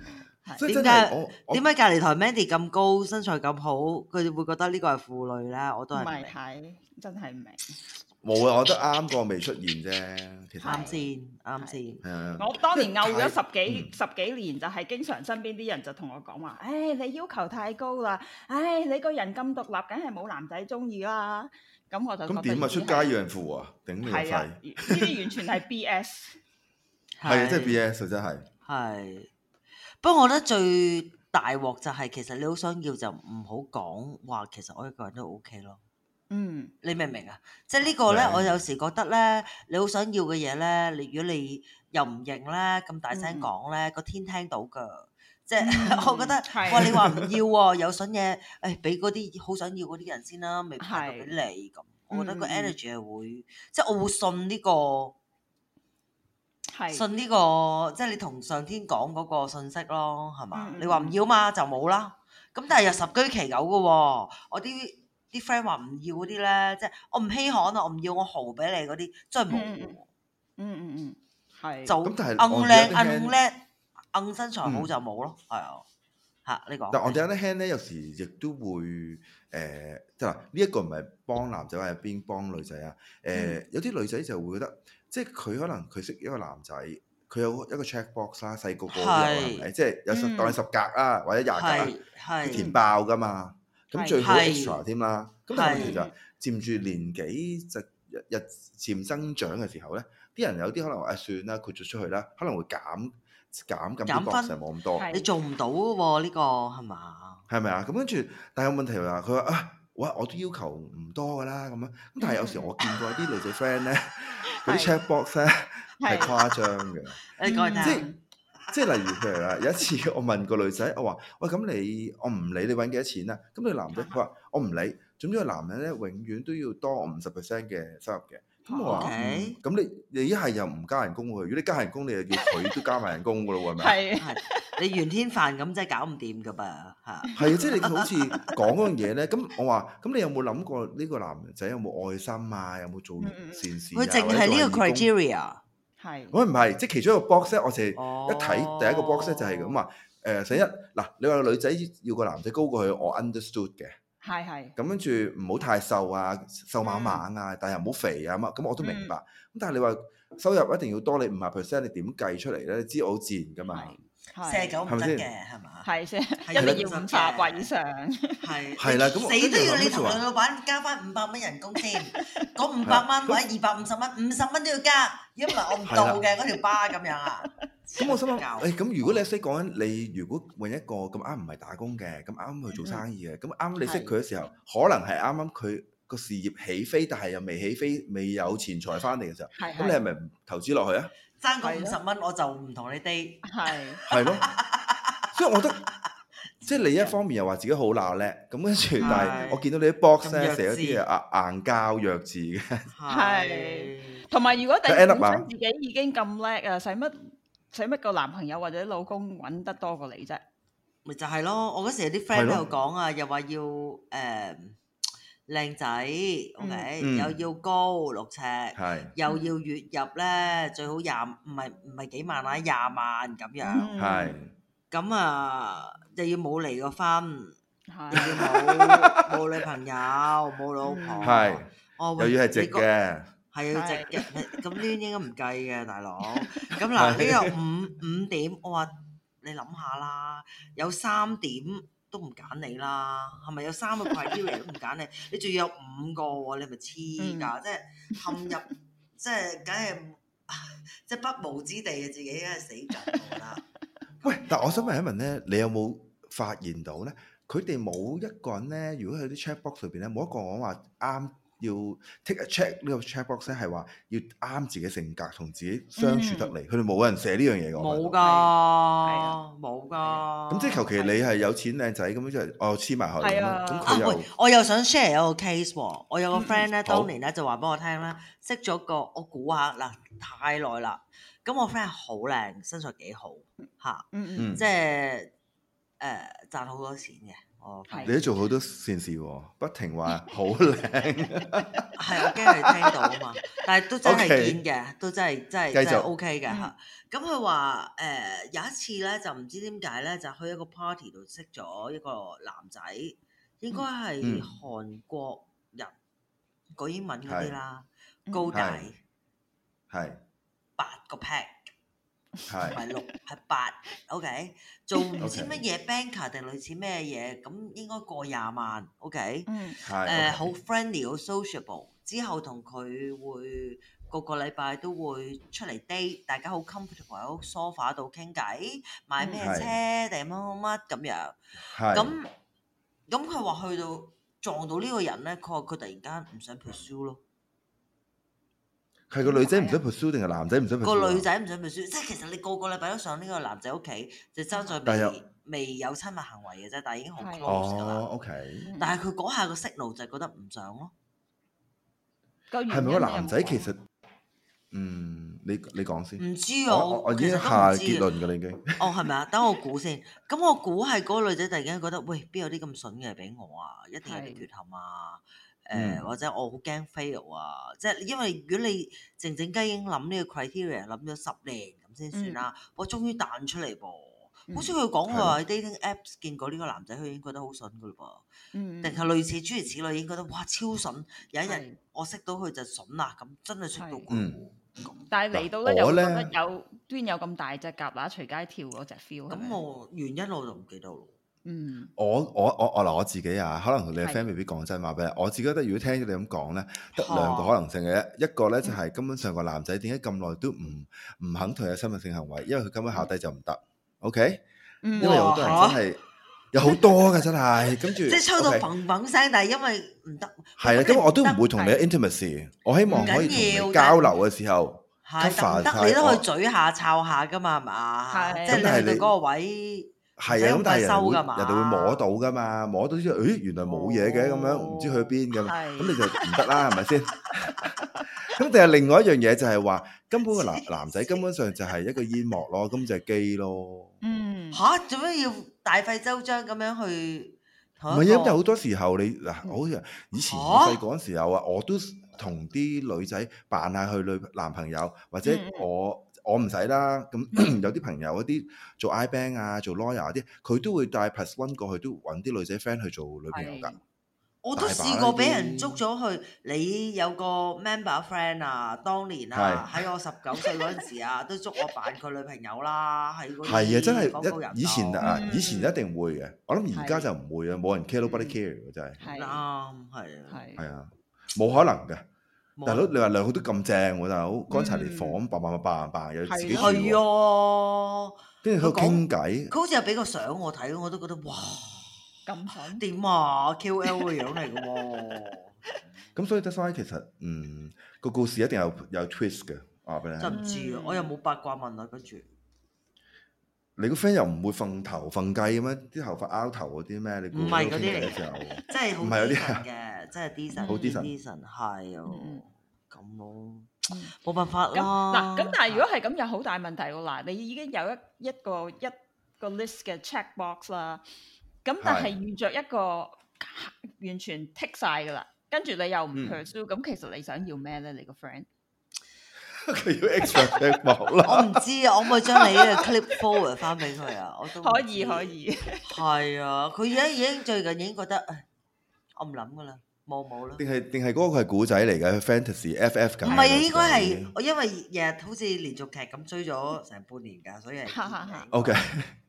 點解點解隔離台 Mandy 咁高，身材咁好，佢哋會覺得呢個係婦女咧？我都係唔明。 係真係唔明。 冇啊！我覺得啱個未出現啫，其實啱先啱先。 係啊！ 我當年漚咗十幾十幾年，就係經常身邊啲人就同我講話：，誒你要求太高啦，誒你個人咁獨立，梗係冇男仔中意啦。咁我就咁點啊？出街要人扶啊？頂你個肺！ 呢啲完全係 B S。 係真係 B S 啊！真係。 係。不過我覺得最大鑊就係其實你好想要就唔好講話，其實我一個人都 OK 咯。 嗯， 你明唔明啊？即係呢個咧，我有時覺得咧，你好想要嘅嘢咧，你如果你又唔認咧，咁大聲講咧，個天聽到㗎。即係我覺得，哇！你話唔要喎，有筍嘢，誒俾嗰啲好想要嗰啲人先啦，未派到俾你咁。我覺得個 energy 係會，即係我會信呢個。信呢個即係你同上天講嗰個信息咯，係嘛？你話唔要嘛就冇啦。咁但係又十居其有嘅喎。我啲啲 friend 話唔要嗰啲咧，即係我唔稀罕啊，我唔要我豪俾你嗰啲，真係冇。 嗯嗯嗯，係。 就硬靚硬叻硬身材好就冇咯，係啊。嚇呢個。 但係我哋有啲 hand 咧，有時亦都會誒，即係嗱呢一個唔係幫男仔，係邊幫女仔啊？誒有啲女仔就會覺得。即係佢可能佢識一個男仔，佢有一個 check box 啦，細個個都有係咪？即係有十當你十格啊，或者廿格啦，佢填爆噶嘛。咁最好 extra 添啦。咁但係問題就係漸住年紀就日日漸增長嘅時候咧，啲人有啲可能話誒算啦，佢做出去啦，可能會減減咁啲 box 冇咁多。 你做唔到喎呢個係嘛？ 係咪啊？咁跟住，但係有問題話佢話啊。哇！我都要求唔多噶啦，咁樣咁，但係有時我見過啲女仔 friend 咧，嗰啲 check box 咧係誇張嘅。 你講嚟聽。 即係例如譬如啦，有一次我問個女仔，我話：喂，咁你我唔理你揾幾多錢啦。咁你男仔佢話：我唔理，總之個男人咧永遠都要多我五十 percent 嘅收入嘅。咁我話：咁你你一係又唔加人工喎？如果你加人工，你又叫佢都加埋人工噶咯喎？係咪？ 係係。你袁天凡咁真係搞唔掂噶噃嚇。 係啊，即係你好似講嗰樣嘢咧。咁我話：咁你有冇諗過呢個男仔有冇愛心啊？有冇做善事啊？ 佢淨係呢個 criteria。係。 我唔係，即係其中一個 box 咧，我就係一睇第一個 box 咧就係咁話。誒，第一嗱，你話個女仔要個男仔高過佢，我 understood 嘅。係係。咁跟住唔好太瘦啊，瘦蜢蜢啊，但係又唔好肥啊咁，咁我都明白。咁但係你話收入一定要多你五十 percent，你點計出嚟咧？你知我好自然噶嘛。 四十九唔得嘅係嘛？係先， 一定要五十或以上。 係係啦，咁死都要你同女老闆加翻五百蚊人工先，嗰五百蚊或者二百五十蚊，五十蚊都要加，如果唔係我唔到嘅嗰條巴咁樣啊。 咁我心諗，誒咁如果你識講緊，你如果揾一個咁啱唔係打工嘅，咁啱去做生意嘅，咁啱你識佢嘅時候，可能係啱啱佢個事業起飛，但係又未起飛，未有錢財翻嚟嘅時候，咁你係咪唔投資落去啊？ 爭個五十蚊我就唔同你 date，係係咯，所以我覺得即係你一方面又話自己好鬧叻，咁跟住，但係我見到你啲 box 咧寫咗啲嘢硬膠弱智嘅， 係同埋如果第本身自己已經咁叻啊，使乜使乜個男朋友或者老公揾得多過你啫？ 咪就係咯，我嗰時有啲 friend 喺度講啊，又話要誒。靚仔 ，OK，、嗯、又要高六尺，是又要月入咧最好廿唔係唔係幾萬啊廿萬咁樣，係咁、嗯、啊又要冇離過婚，是又要冇冇女朋友冇老婆，係是， 哦、又要係直嘅， 係要直嘅，咁呢啲應該唔計嘅大佬，咁嗱呢個五五點，我話你諗下啦，有三點。都唔揀你啦，係咪有三個 criteria 都唔揀你？你仲要有五個喎，你係咪黐㗎？即係陷入，即係梗係即係不毛之地嘅自己，梗係死緊啦。 喂，但係我想問一問咧，你有冇發現到咧？佢哋冇一個人咧，如果喺啲 check box 裏邊咧，冇一個講話啱要 take a check 呢個 check box 咧，係話要啱自己性格同自己相處得嚟。佢哋冇人寫呢樣嘢㗎。 冇㗎，係啊，冇㗎。 咁即係求其你係有錢靚仔咁樣，即係我黐埋佢咁樣。咁佢又我又想 share 一個 case 喎。我有個 friend 咧，當年咧就話俾我聽咧，識咗個我估下嗱，太耐啦。咁我 friend 係好靚，身材幾好嚇，即係誒賺好多錢嘅。 哦， 你都做好多善事喎，不停話好靚。 係我驚佢聽到啊嘛，但係都真係堅嘅，都真係真係真係 OK 嘅嚇。咁佢話誒有一次咧，就唔知點解咧，就去一個 party 度識咗一個男仔，應該係韓國人，講英文嗰啲啦，高大， 係八個 pack。 係， 唔係六，係八 ，OK， 做唔知乜嘢 banker 定類似咩嘢，咁應該過廿萬 ，OK， 嗯， 誒好 friendly 好 sociable，之後同佢會個個禮拜都會出嚟 date，大家好 comfortable 喺個 sofa 度傾偈，買咩車定乜乜乜咁樣，咁咁佢話去到撞到呢個人咧，佢話佢突然間唔想 pursue 咯。 係個女仔唔想 pursue 定係男仔唔想 pursue？ 個女仔唔想 pursue，即係其實你個個禮拜都上呢個男仔屋企，就爭在未未有親密行為嘅啫，但係已經好 close 㗎啦。 哦 ，OK。 但係佢嗰下個 signal 就係覺得唔想咯。 係咪個男仔其實？嗯，你你講先。 唔知啊， 我我已經下結論㗎啦，已經。 哦，係咪啊？等我估先。咁我估係嗰個女仔突然間覺得，喂，邊有啲咁筍嘅俾我啊？一定有啲缺陷啊！誒、呃嗯、或者我好驚 fail 啊！即係因為如果你靜靜雞已經諗呢個 criteria 諗咗十年咁先算啦，嗯、我終於彈出嚟噃，嗯、好似佢講佢話喺 dating apps 見過呢個男仔，佢已經覺得好筍噶嘞噃，定係、嗯、類似諸如此類已經覺得哇超筍，有一日我識到佢就筍啦，咁真係識到佢。嗯、 但係嚟到咧又覺得有端有咁大隻蛤乸隨街跳嗰隻 feel。 咁我原因我就唔記得咯。 嗯， 我我我我嗱我自己啊，可能你嘅 friend 未必講真話俾你。我自己覺得，如果聽咗你咁講咧，得兩個可能性嘅，啊、一個咧就係根本上個男仔點解咁耐都唔唔肯同佢有親密性行為，因為佢根本考低就唔得。OK，、嗯、因為有好多人真係、啊、有好多嘅真係，跟住即係抽到砰砰聲，但係因為唔得。 係啊，咁我都唔會同你 intimacy，我希望可以同你交流嘅時候， 係得你都可以嘴下抄下噶嘛，係嘛？即係你去到嗰個位。 係啊，咁但係人會人哋會摸到噶嘛，摸到之後，誒原來冇嘢嘅咁樣，唔知去邊嘅，咁你就唔得啦，係咪先？咁定係另外一樣嘢就係話，根本個男男仔根本上就係一個煙幕咯，咁就係基咯。嗯，嚇做咩要大費周章咁樣去？唔係啊，因為好多時候你嗱，好似以前我細個嗰陣時候啊，我都同啲女仔扮下佢女男朋友，或者我。我唔使啦，咁有啲朋友嗰啲做 I-Bank 啊，做 lawyer 嗰啲，佢都會帶 plus one 過去，都揾啲女仔 friend 去做女朋友㗎。我都試過俾人捉咗去，你有個 member friend 啊，當年啊，喺我十九歲嗰陣時啊，都捉我扮佢女朋友啦，喺嗰啲係啊，真係一以前啊，以前一定會嘅。我諗而家就唔會啊，冇人 care，nobody care 嘅真係。係啱，係啊，係啊，冇可能嘅。大佬，你話兩個都咁正喎，大佬乾柴烈火咁，扮扮扮扮又自己住喎，係啊，跟住佢傾偈，佢好似有俾個相我睇，我都覺得哇咁想點啊 Q L 嘅樣嚟嘅喎，咁所以 that's why 其實嗯個故事一定有有 twist 嘅，話俾你聽。真唔知啊，我又冇八卦問啊，跟住你個 friend 又唔會瞓頭瞓雞咁咩？啲頭髮拗頭嗰啲咩？你唔係嗰啲嚟嘅時候，即係好 decent 嘅，即係 decent，好 decent，decent 係啊，咁咯，冇辦法啦。 嗱，咁但係如果係咁，有好大問題喎。嗱，你已經有一一個一個 list 嘅 check box 啦，咁但係遇着一個完全剔晒㗎啦，跟住你又唔 pursue，咁其實你想要咩咧？你個 friend？佢要 extra check box 啦。我唔知啊，我咪將你嘅 clip forward 翻俾佢啊，我都可以可以。係啊，佢而家已經最近已經覺得，誒，我唔諗噶啦，冇冇啦。定係定係嗰個係古仔嚟嘅 fantasy F F 咁。唔係啊，應該係我因為日日好似連續劇咁追咗成半年㗎，所以係。O K。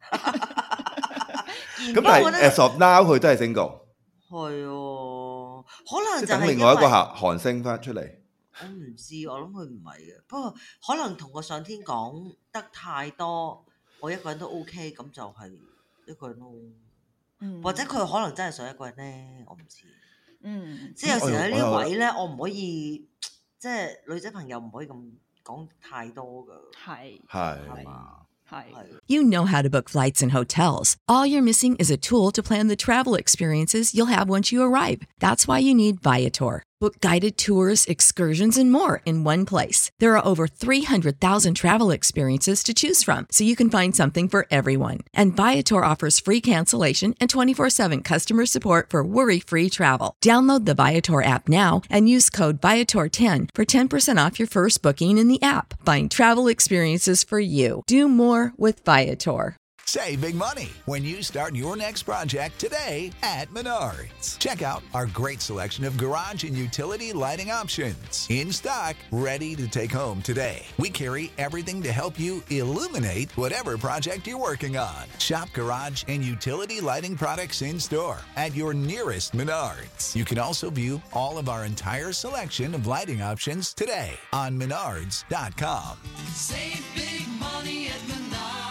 咁但係 as of now 佢都係 single。係啊，可能就係等另外一個韓韓星翻出嚟。我唔知，我諗佢唔係嘅，不過可能同個上天講得太多，我一個人都 OK，咁就係一個人咯。嗯，或者佢可能真係想一個人咧，我唔知。嗯，即係有時喺呢位咧，我唔可以，即係女仔朋友唔可以咁講太多噶。係係係嘛。You know how to book flights and hotels. All you're missing is a tool to plan the travel experiences you'll have once you arrive. That's why you need Viator. Book guided tours, excursions, and more in one place. There are over three hundred thousand travel experiences to choose from, so you can find something for everyone. And Viator offers free cancellation and twenty-four seven customer support for worry-free travel. Download the Viator app now and use code Viator ten for ten percent off your first booking in the app. Find travel experiences for you. Do more with Viator. Save big money when you start your next project today at Menards. Check out our great selection of garage and utility lighting options. In stock, ready to take home today. We carry everything to help you illuminate whatever project you're working on. Shop garage and utility lighting products in store at your nearest Menards. You can also view all of our entire selection of lighting options today on menards dot com. Save big money at Menards.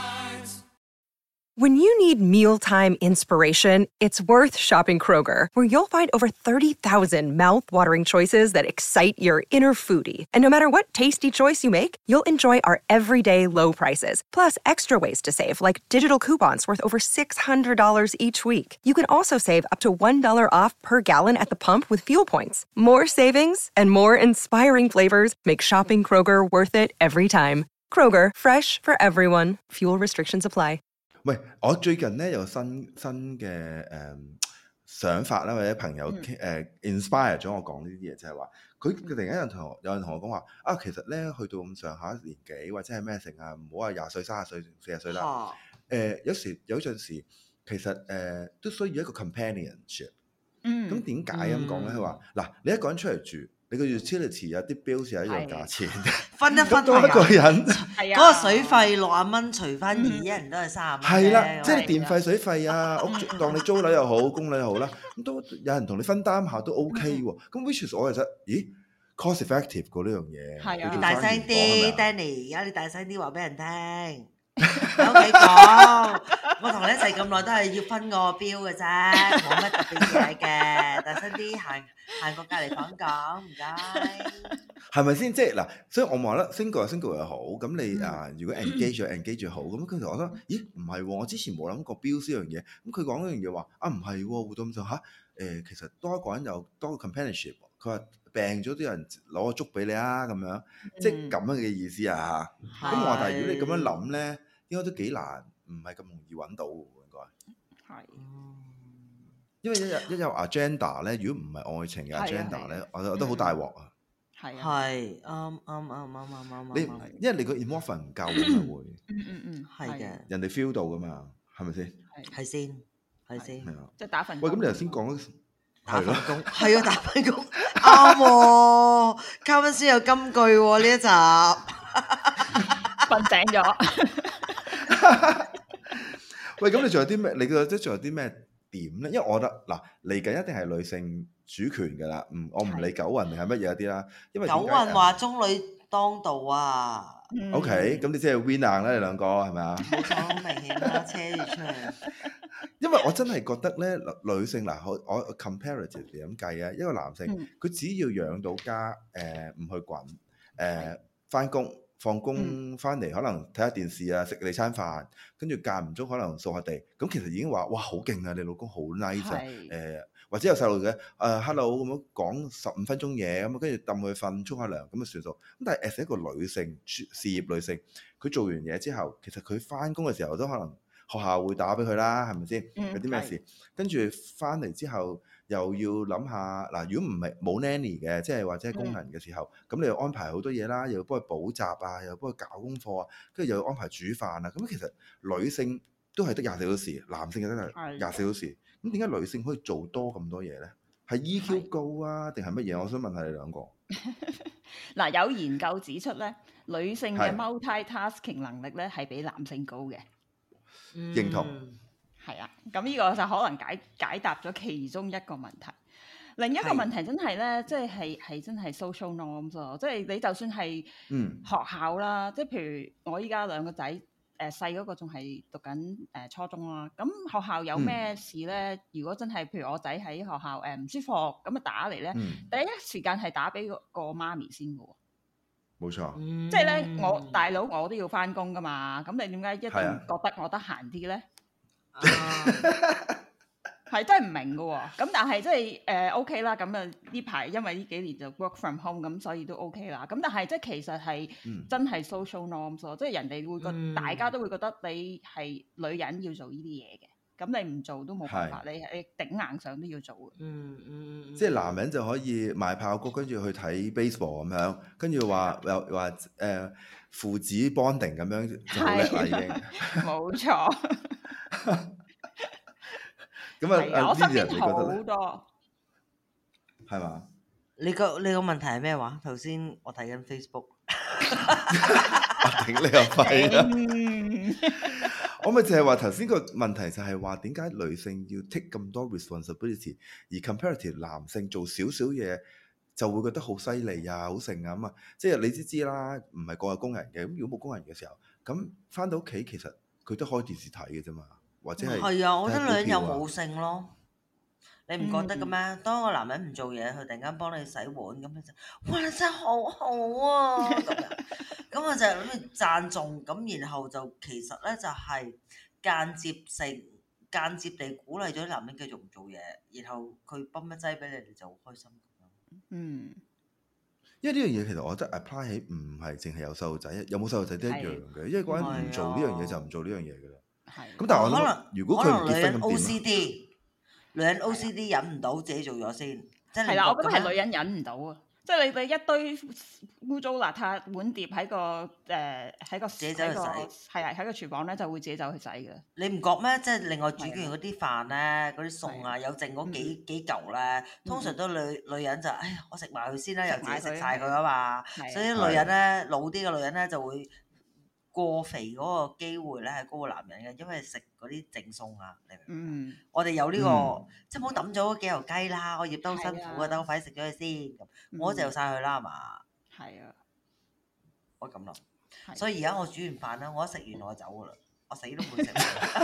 When you need mealtime inspiration, it's worth shopping Kroger, where you'll find over thirty thousand mouth-watering choices that excite your inner foodie. And no matter what tasty choice you make, you'll enjoy our everyday low prices, plus extra ways to save, like digital coupons worth over six hundred dollars each week. You can also save up to one dollar off per gallon at the pump with fuel points. More savings and more inspiring flavors make shopping Kroger worth it every time. Kroger, fresh for everyone. Fuel restrictions apply. 喂，我最近咧有新新嘅誒、嗯、想法啦，或者朋友誒、呃、inspire 咗我講呢啲嘢，就係話佢突然間有人同我有人同我講話啊，其實咧去到咁上下年紀或者係咩成啊，唔好話廿歲、三十歲、四十歲啦。誒、 哦呃、有時有陣時其實誒、呃、都需要一個 companionship。 嗯， 咁點解咁講咧？佢話嗱，你一個人出嚟住，你個 utility 有啲 bills 有一樣價錢， 分一分多一個人係啊， 嗰個水費六十蚊，除翻二，一人都係三十蚊。 係啦，即係電費、水費啊，屋租當你租樓又好，供樓又好啦，咁都有人同你分擔下都 OK 喎。咁 which is 我其實，咦 cost effective 過呢樣嘢。 係啊， 你大聲啲 ，Danny，而家你大聲啲話俾人聽。喺屋企講，我同你一齊咁耐都係要分個標嘅啫，冇乜特別嘢嘅。大聲啲，行行過隔離房講，唔該。 係咪先？即係嗱，所以我話啦 ，single 又 single 又好，咁你啊，如果 engage 就 engage 就好。咁跟住我覺得，咦，唔係喎，我之前冇諗過標呢樣嘢。咁佢講嗰樣嘢話啊，唔係喎，活到咁上下，誒，其實多一個人有多個 companionship。佢話病咗啲人攞個粥俾你啊，咁樣，即係咁樣嘅意思啊。咁我話，但係如果你咁樣諗咧，應該都幾難，唔係咁容易揾到喎，應該。係。因為一有一有 agenda 咧，如果唔係愛情嘅 agenda 咧，我覺得好大鑊啊。 係啊。 係啱啱啱啱啱啱。 你因為你個 emotion 唔夠咁咪會。 嗯嗯嗯， 係嘅。 人哋 feel 到噶嘛，係咪先？ 係先，係先。 係啊。 即係打份。 喂，咁你頭先講打份工，係啊，打份工啱喎。嘉賓先有金句喎呢一集。 瞓醒咗。 喂，咁你仲有啲咩？你覺得仲有啲咩點咧？因為我覺得嗱，嚟緊一定係女性主權㗎啦。唔，我唔理九運定係乜嘢啲啦。因為九運話中女當道啊。 O K，咁你即係 win 硬啦，你兩個係咪啊？ 冇錯，好明顯啦，車住出嚟。 因為我真係覺得咧，女性嗱，我我 comparative 咁計啊，一個男性佢只要養到家，誒唔去滾，誒翻工。放工翻嚟可能睇下電視啊，食你餐飯，跟住間唔中可能掃下地，咁其實已經話哇好勁啊！你老公好 nice 啊，誒或者有細路嘅誒 hello 咁樣講十五分鐘嘢咁，跟住揼佢瞓沖下涼咁就算數。咁但係 as 一個女性事業女性，佢做完嘢之後，其實佢翻工嘅時候都可能學校會打俾佢啦，係咪先？有啲咩事？跟住翻嚟之後。又要諗下嗱，如果唔係冇 nanny 嘅，即係或者係工人嘅時候，咁、嗯、你又安排好多嘢啦，又要幫佢補習啊，又要幫佢搞功課啊，跟住又要安排煮飯啊。咁其實女性都係得廿四小時，男性就得係廿四小時。咁點解女性可以做多咁多嘢咧？係 E Q 高啊，定係乜嘢？我想問下你兩個。 嗱，有研究指出咧，女性嘅 multi-tasking 能力咧係比男性高嘅。 認同。 係啊，咁呢個就可能解解答咗其中一個問題。另一個問題真係咧，即係係係真係 social norms 咯。即係你就算係學校啦，嗯、即係譬如我依家兩個仔，誒細嗰個仲係讀緊誒、呃、初中啦。咁學校有咩事咧？嗯、如果真係譬如我仔喺學校誒唔、呃、舒服，咁啊打嚟咧，嗯、第一時間係打俾個媽咪先嘅喎。 冇錯， 嗯、即係咧，我大佬我都要翻工噶嘛。咁你點解一定覺得我得閒啲咧？ 係真係唔明嘅喎。咁但係即係誒 OK 啦。咁啊呢排因為呢幾年就 work from home，咁所以都 OK 啦。咁但係即係其實係真係 social norms 咯，即係人哋會覺嗯大家都會覺得你係女人要做呢啲嘢嘅。咁你唔做都冇辦法，你你頂硬上都要做嘅。 嗯嗯嗯， 即係男人就可以賣炮谷，跟住去睇 baseball 咁樣，跟住話又話誒父子 bonding 咁樣就好叻啦已經。 冇錯。 咁啊， 係啊，我身呢啲人邊好你覺得咧？ 多。 係嘛？ 你個你個問題係咩話？頭先我睇緊 Facebook。 我頂你個肺啦！ 嗯我咪就係話頭先個問題就係話點解女性要 take 咁多 responsibility，而 comparative 男性做少少嘢就會覺得好犀利啊、好盛啊咁啊！即係你知知啦，唔係個個工人嘅。咁如果冇工人嘅時候，咁翻到屋企其實佢都開電視睇嘅啫嘛，或者係係啊，我覺得女人有睇股票啊冇性咯。你唔覺得嘅咩？當個男人唔做嘢，佢突然間幫你洗碗，咁你就哇你真係好好啊咁樣。咁我就諗住讚頌，咁然後就其實咧就係間接性、間接地鼓勵咗啲男人繼續唔做嘢，然後佢泵一劑俾你，你就好開心。 嗯， 因為呢樣嘢其實我覺得 apply 起唔係淨係有細路仔，有冇細路仔都一樣嘅。因為嗰人唔做呢樣嘢就唔做呢樣嘢嘅啦。 係。 咁但係我諗可能如果佢唔可能女人結婚咁 O 點 C 啊？ D，女人 O C D 忍唔到自己做咗先，即係係啦，我覺得係女女人忍唔到啊！即係你你一堆污糟邋遢碗碟喺個誒喺個自己走去喺個洗係啊喺個廚房咧就會自己走去洗嘅。 你唔覺咩？即係另外煮完嗰啲飯咧，嗰啲餸啊， 係有剩嗰嗯幾幾嚿咧，通常都女女人就，哎呀，我食埋佢先啦，又自己食埋佢食晒佢啊嘛。 係所以啲女人咧，老啲嘅女人咧就會過肥嗰個機會咧係高過男人嘅，因為食嗰啲剩餸啊，你明唔明？ 嗯， 我哋有呢嗯個，即係唔好抌咗嗰幾嚿雞啦，我醃得好辛苦係啊啊，等我快啲食咗佢先，咁嗯我就晒佢啦，係嘛？ 係啊， 我咁諗， 係所以而家我煮完飯咧，我一食完我就走噶啦，我死都唔會食。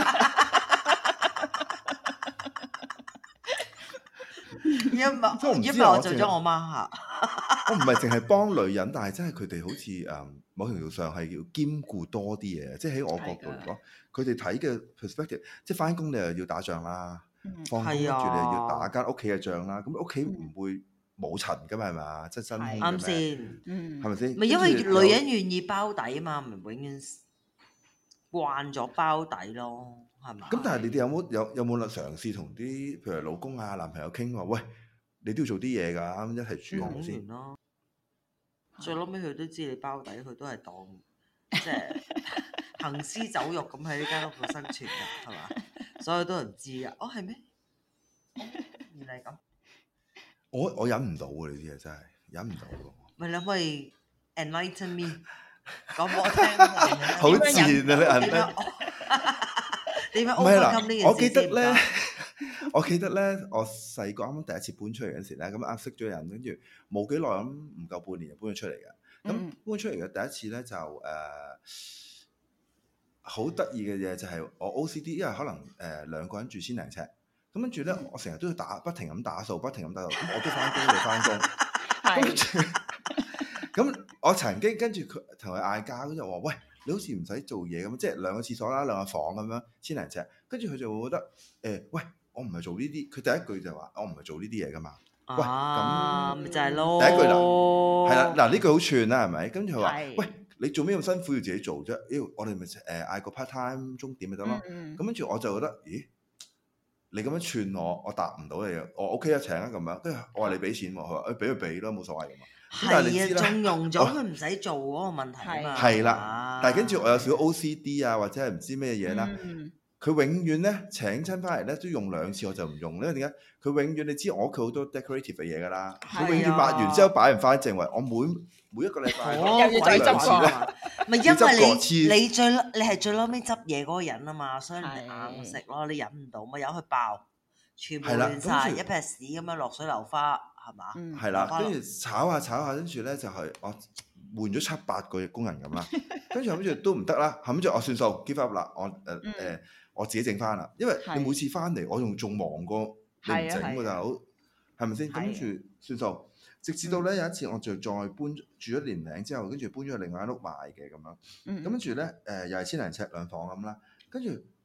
因為即係我唔知因為啊我淨係我做咗我媽嚇。 我唔係淨係幫女人，但係真係佢哋好似誒某程度上係要兼顧多啲嘢，即係喺我角度嚟講，佢哋睇嘅 perspective，即係翻工你又要打仗啦， 嗯放工跟住你又係啊要打間屋企嘅仗啦，咁屋企唔會冇塵噶嘛，係嘛？即係真空係嘅咩？ 啱先， 嗯係咪先？ 咪因為跟住又女人願意包底啊嘛，咪永遠慣咗包底咯，係嘛？ 咁，但係你哋有冇有有冇嘗試同啲譬如老公啊、男朋友傾話，喂，你都要做啲嘢㗎，啱一齊煮講好先完。咯，最撈尾佢都知你包底，佢都係當即係行屍走肉咁喺呢間屋度生存㗎，係嘛？所以都人知㗎。哦，係咩？哦原來係咁。 我我忍唔到喎，呢啲嘢真係忍唔到喎。 咪你可唔可以 enlighten me 講俾我聽？ 好賤啊！你點人樣點樣唔係 overcome 呢件事嗱，我記得先唔咧該， 我記得咧，我細個啱啱第一次搬出嚟嗰時咧，咁啱識咗人，跟住冇幾耐咁，唔夠半年就搬咗出嚟嘅。咁嗯搬出嚟嘅第一次咧就誒好得意嘅嘢就係我 O C D，因為可能誒、呃、兩個人住千零尺，咁跟住咧我成日都要打不停咁打掃，不停咁打掃，咁我都翻工，你翻工，跟係住咁我曾經跟住佢同佢嗌交，跟住我話喂，你好似唔使做嘢咁，即係兩個廁所啦，兩個房咁樣千零尺，跟住佢就會覺得誒、呃、喂，我唔係做呢啲，佢第一句就話我唔係做呢啲嘢噶嘛。喂啊，咪就係咯。 第一句嗱係啦，嗱呢句好串啦，係咪？跟住佢話係喂，你做咩咁辛苦要自己做啫？妖，我哋咪誒嗌個 part time 鐘點咪得咯。 嗯咁跟住我就覺得，咦？你咁樣串我，我答唔到你啊！我 OK 啊，請啊咁樣。跟住我話你俾錢喎，佢話誒俾佢俾咯，冇所謂㗎嘛。咁但係你知係啊， 啦， 縱容咗我佢唔使做嗰個問題啊嘛。 係啦啊但係跟住我有少少 O C D 啊，或者係唔知咩嘢啦。 嗯佢永遠咧請親翻嚟咧都用兩次，我就唔用，因為點解？佢永遠你知我屋企好多 decorative 嘅嘢㗎啦，佢永遠抹完之後擺唔翻正位，我每每一個禮拜哦又要再執過兩次咧。 咪因要執過為次你你最你係最嬲尾執嘢嗰個人啊嘛，所以你係硬食咯，你忍唔到咪由佢爆，全部係啦亂晒， 跟住一撇屎咁樣落水流花，係嘛？ 嗯係啦， 落跟住炒下炒下，跟住咧就係我換咗七八個工人咁啦，跟住諗住都唔得啦，諗住我算數 give up 啦，我誒誒、 嗯呃、我自己整翻啦，因為係你每次翻嚟我仲仲忙過你唔係啊整喎， 係啊大佬係咪先？咁係啊跟住算數，直至到咧有一次我就再搬住咗年零之後，跟住搬咗去另外間屋賣嘅咁樣， 嗯咁跟住咧誒又係千零尺兩房咁啦，跟住有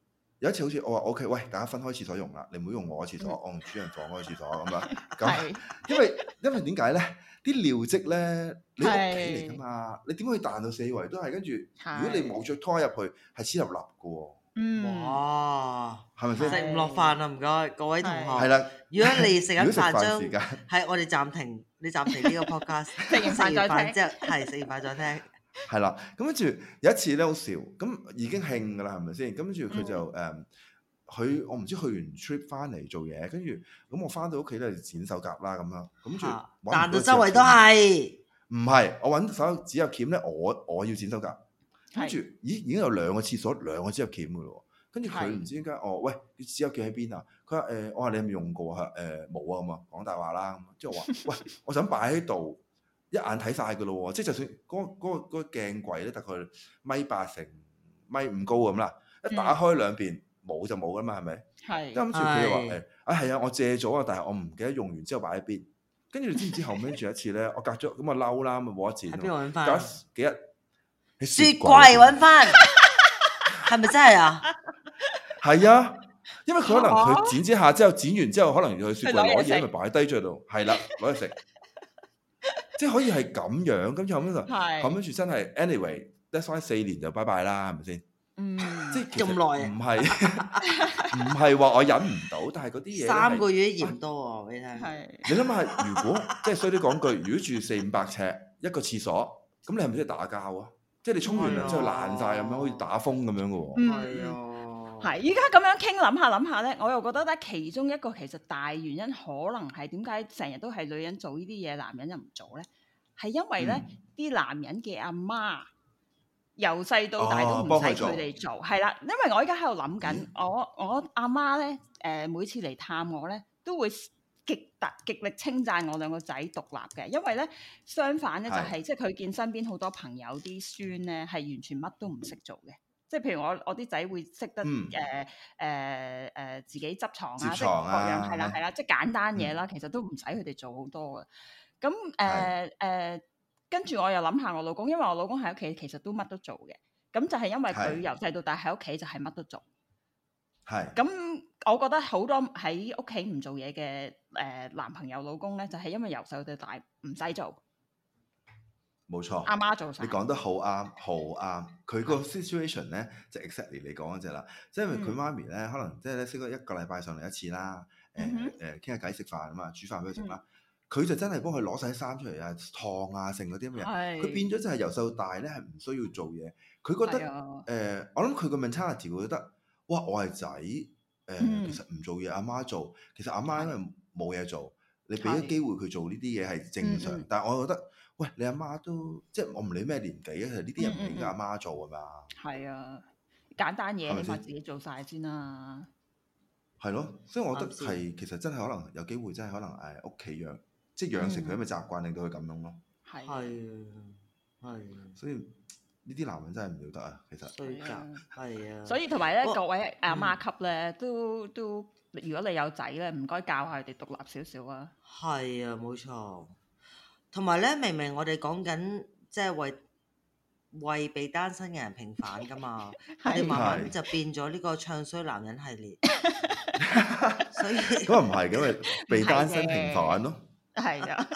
有一次好似我話 OK， 喂，大家分開廁所用啦，你唔好用我嘅廁所，我用主人房嗰個廁所咁樣。咁因為因為點解咧？啲尿漬咧，你屋企嚟㗎嘛，你點可以彈到四圍都係？跟住如果你冇着拖入去，係黐立立㗎喎。 嗯， 哇， 係咪先？ 食唔落飯啊！唔該各位同學。 係啦， 如果你食緊飯將時間， 係我哋暫停，你暫停呢個 podcast， 食完飯再聽。 之後係食完飯再聽。 係啦，咁跟住有一次咧好笑，咁已經興㗎啦，係咪先？咁跟住佢就誒，佢我唔知去完 trip 翻嚟做嘢，跟住咁我翻到屋企咧就剪手甲啦咁樣，咁住彈到周圍都係。 唔係，我揾手指甲鉗咧，我我要剪手甲，跟住咦已經有兩個廁所兩個指甲鉗㗎咯，跟住佢唔知點解，哦喂，啲指甲鉗喺邊啊？佢話誒，我話你係咪用過啊？誒冇啊咁啊，講大話啦咁，即係我話喂，我想擺喺度。一眼睇晒㗎咯喎，即係就算嗰、嗰個嗰、嗰個嗰個鏡櫃咧，大概米八成米五高咁啦，一打開兩邊冇就冇㗎嘛，係咪？係。跟住佢又話誒，啊係啊，我借咗啊，但係我唔記得用完之後擺喺邊。跟住你知唔知後尾住一次咧，我隔咗咁啊嬲啦，咁啊冇得剪。喺邊度揾翻？隔幾日喺雪櫃揾翻，係咪真係啊？ 係啊，因為佢可能佢剪之下之後，剪完之後可能要去雪櫃攞嘢，咪擺低咗喺度。係啦，攞嚟食。即係可以係咁樣，咁後尾就後尾住真係 anyway，that's why 四年就拜拜啦，係咪先？嗯，即係咁耐，唔係唔係話我忍唔到，但係嗰啲嘢三個月嫌多喎，俾你聽。係你諗下，如果即係衰啲講句，如果住四五百尺一個廁所，咁你係咪真係打交啊？即係你沖完涼之後爛晒咁樣，好似打風咁樣嘅喎。 係啊， 係依家咁樣傾，諗下諗下咧，我又覺得咧，其中一個其實大原因可能係點解成日都係女人做呢啲嘢，男人又唔做咧？係因為咧，啲、嗯、男人嘅阿媽由細到大都唔使佢哋做，係啦、哦。因為我依家喺度諗緊，嗯、我我阿媽咧，誒、呃、每次嚟探我咧，都會極特極力稱讚我兩個仔獨立嘅。因為咧，相反咧就係、是、即係佢見身邊好多朋友啲孫咧係完全乜都唔識做嘅。即係譬如我我啲仔會識得誒誒誒自己執床啊，即係各樣係啦係啦，即係簡單嘢啦，嗯、其實都唔使佢哋做好多嘅。咁誒誒，跟住我又諗下我老公，因為我老公喺屋企其實都乜都做嘅。咁就係因為佢由細到大喺屋企就係乜都做。係。咁我覺得好多喺屋企唔做嘢嘅誒男朋友老公咧，就係、是、因為由細到大唔使做。 冇錯， 阿媽做晒。 你講得好啱，好啱。佢個 situation 咧就 exactly 你講嗰隻啦，即係因為佢媽咪咧，可能即係咧識咗一個禮拜上嚟一次啦，誒誒傾下偈食飯啊嘛，煮飯俾佢食啦。佢就真係幫佢攞晒啲衫出嚟啊，燙啊，剩嗰啲咁嘢。佢變咗就係由細到大咧，係唔需要做嘢。佢覺得誒、呃，我諗佢個 mentality 會覺得，哇！我係仔誒，其實唔做嘢，阿媽做。其實阿媽因為冇嘢做，你俾咗機會佢做呢啲嘢係正常。但係我覺得。喂，你阿媽都即係我唔理咩年紀啊，其實呢啲人唔係應該阿媽做噶嘛。係啊，簡單嘢起碼自己做晒先啦。係咯，所以我覺得係其實真係可能有機會，真係可能誒屋企養，即係養成佢咁嘅習慣，令到佢咁樣咯。係係係。所以呢啲男人真係唔要得啊，其實。衰格係啊。所以同埋咧，各位阿媽級咧，都都如果你有仔咧，唔該教下佢哋獨立少少啊。係啊，冇錯。同埋咧，明明我哋講緊即係為為被單身嘅人平反噶嘛，我哋慢慢就變咗呢個唱衰男人系列。所以咁啊唔係咁咪被單身平反咯。係啊，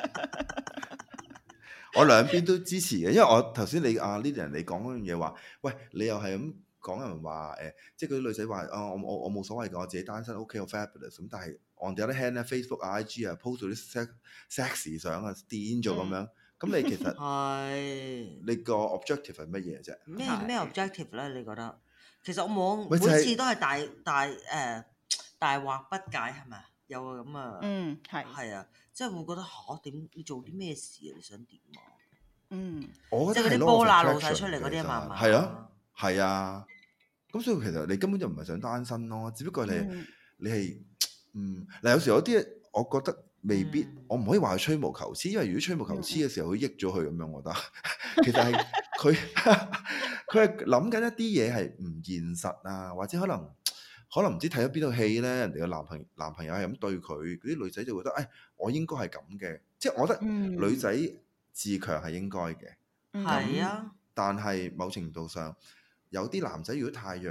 我兩邊都支持嘅，因為我頭先你啊呢啲人你講嗰樣嘢話，喂你又係咁講人話誒，即係嗰啲女仔話啊我我我冇所謂㗎，我自己單身 OK 我 fabulous 咁，但係。on the other hand 咧 ，Facebook 啊、I G 啊 ，post 到啲 sexy 相啊，癲咗咁樣。咁你其實係你個 objective 係乜嘢啫？咩咩 objective 咧？你覺得？其實我冇每次都係大大誒大惑不解係咪？有個咁啊，嗯係係啊，即係會覺得嚇點？你做啲咩事啊？你想點啊？嗯，我覺得即係嗰啲波乸露晒出嚟嗰啲啊嘛，係啊係啊。咁所以其實你根本就唔係想單身咯，只不過你你係。嗯，嗱有時有啲，我覺得未必，嗯、我唔可以話佢吹毛求疵，因為如果吹毛求疵嘅時候，佢益咗佢咁樣，我覺得其實係佢佢係諗緊一啲嘢係唔現實啊，或者可能可能唔知睇咗邊套戲咧，人哋嘅男朋友男朋友係咁對佢，嗰啲女仔就覺得，誒、哎，我應該係咁嘅，即係我覺得女仔自強係應該嘅，係啊、嗯，但係某程度上有啲男仔如果太弱。你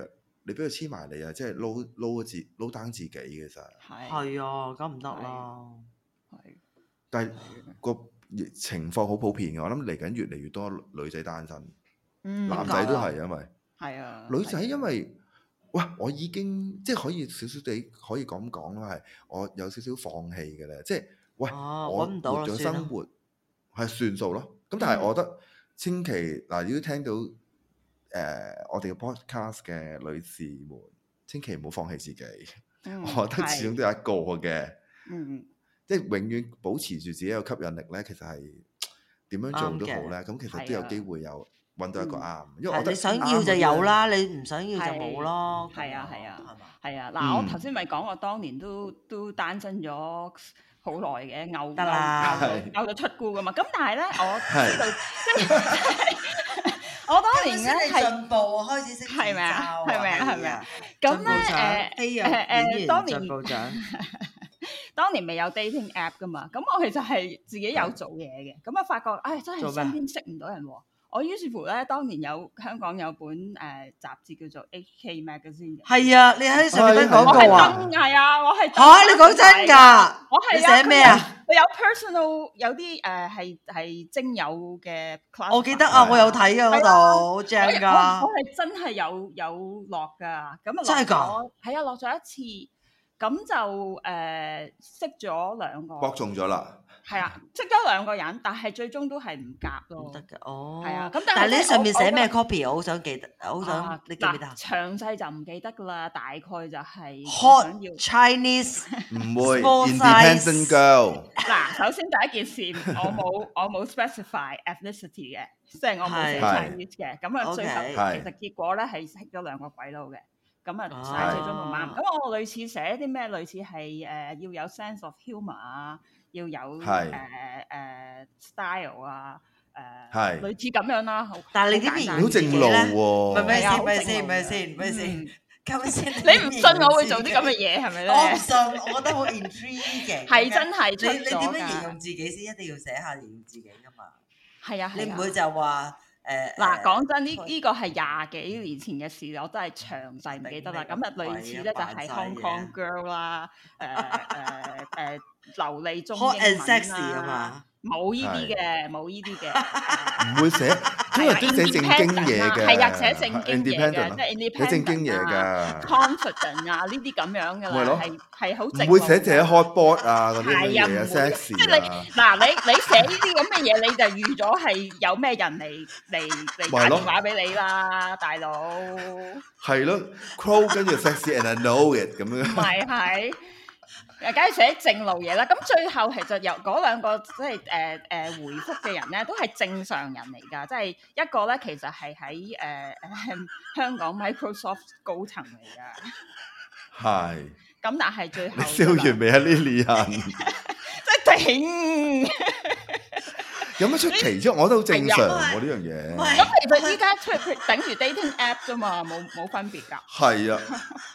你俾佢黐埋你啊，即係撈撈自撈 down 自己其實。 係係啊，咁唔得啦。 係， 但係個情況好普遍嘅，我諗嚟緊越嚟越多女仔單身， 嗯， 男仔都係因為係啊， 女仔因為喂我已經即係可以少少地可以咁講啦，係我有少少放棄嘅咧，即係喂哦我搵唔到啦活咗算啦生活係算數咯。咁但係我覺得千祈嗱，如果聽到誒、呃、我哋嘅 podcast 嘅女士們，千祈唔好放棄自己。 嗯我覺得始終都有一個嘅。 嗯即係永遠保持住自己有吸引力咧，其實係點樣做都好咧。咁其實都有機會有揾到一個啱，因為我覺得係你想要就有啦，你唔想要就冇咯。 係啊係啊係嘛？ 係啊，嗱， 嗯我頭先咪講我當年都都單身咗好耐嘅，牛得啦牛牛到出菇噶嘛。咁但係咧，我知道即係我當年咧係進步，開始識係咪啊係咪啊係咪啊？ 咁咁咧誒誒誒，當年部長當年未有 dating app 噶嘛，咁我其實係自己有做嘢嘅，咁啊發覺，唉、哎，真係做咩身邊識唔到人喎。我於是乎咧，當年有香港有本誒、呃、雜誌叫做 H K Magazine 嘅， 係啊，你喺上面都講我係過啊。 真係啊，我係嚇，你講真㗎？ 我係你寫咩啊？ 佢有 personal 有啲誒係係精友嘅 class， 我記得啊，我有睇㗎嗰度，好正我㗎。 我係真係有有落㗎，咁啊落真係㗎咗，係啊落咗一次，咁就誒、呃、識咗兩個， 搏中咗啦。 係啊，識咗兩個人，但係最終都係唔夾咯。 唔得嘅，哦。 係啊，咁但係但係你喺上面我寫咩我 copy？我好想記得，我好啊想你記唔記得啊嗱詳細就唔記得㗎啦，大概就係 ？Hot 想要 Chinese 唔會 Small independent size girl。 嗱，首先第一件事，我冇我冇 specify ethnicity 嘅，即係我冇寫係 Chinese 嘅。咁啊，最後 OK 係其實結果咧係識咗兩個鬼佬嘅。咁啊， 哦但係最終唔啱。咁我類似寫啲咩？類似係誒要有 sense of humour 啊，要有誒係誒 style 啊，誒係類似咁樣啦。好但係你好簡單點形容你好正路喎。 咪咪係啊先，咪先， 好正路嘅咪先，咪先嗯， 咁先。 你唔信我會做啲咁嘅嘢係咪咧？ 我唔信，我覺得好 intriguing。 係真係出你你點咗樣形㗎。 容自己先？一定要寫下形容自己㗎嘛。 係啊，係啊你唔會就話誒嗱，講真，呢誒呢個係廿幾年前嘅事，我真係詳細唔記得啦。咁啊，類似咧就係 Hong Kong girl 啦，誒誒誒流利中英 hot and 文 sexy 啊啦， 嘛。 冇呢啲嘅，冇呢啲嘅。 唔會寫，通常都寫正經嘢嘅。 係啊，寫正經嘢嘅， Independent 即係寫 independent 正經嘢啊㗎。 confident 啊，呢啲咁樣㗎啦， 咪咯係係好正。 唔會寫自己 hot board 啊嗰啲係啊，唔嘢啊會嘅即係 ，sexy 你啊。 嗱，你你寫呢啲咁嘅嘢，你就預咗係有咩人嚟嚟嚟打咪咯電話俾你啦，大佬。 係咯，crow 跟住 sexy and I know it 咁樣。 咪係，誒，梗係寫正路嘢啦。咁最後其實由嗰兩個即係誒誒回覆嘅人咧，都係正常人嚟㗎。即係一個咧，其實係喺誒誒香港 Microsoft 高層嚟㗎。 係。 咁但係最後你笑完未啊，Lilian？ 即係頂。 有乜出奇啫？我覺得好正常係啊喎呢樣嘢。 咁其實依家出佢等於 dating app 啫嘛，冇冇分別㗎。 係啊。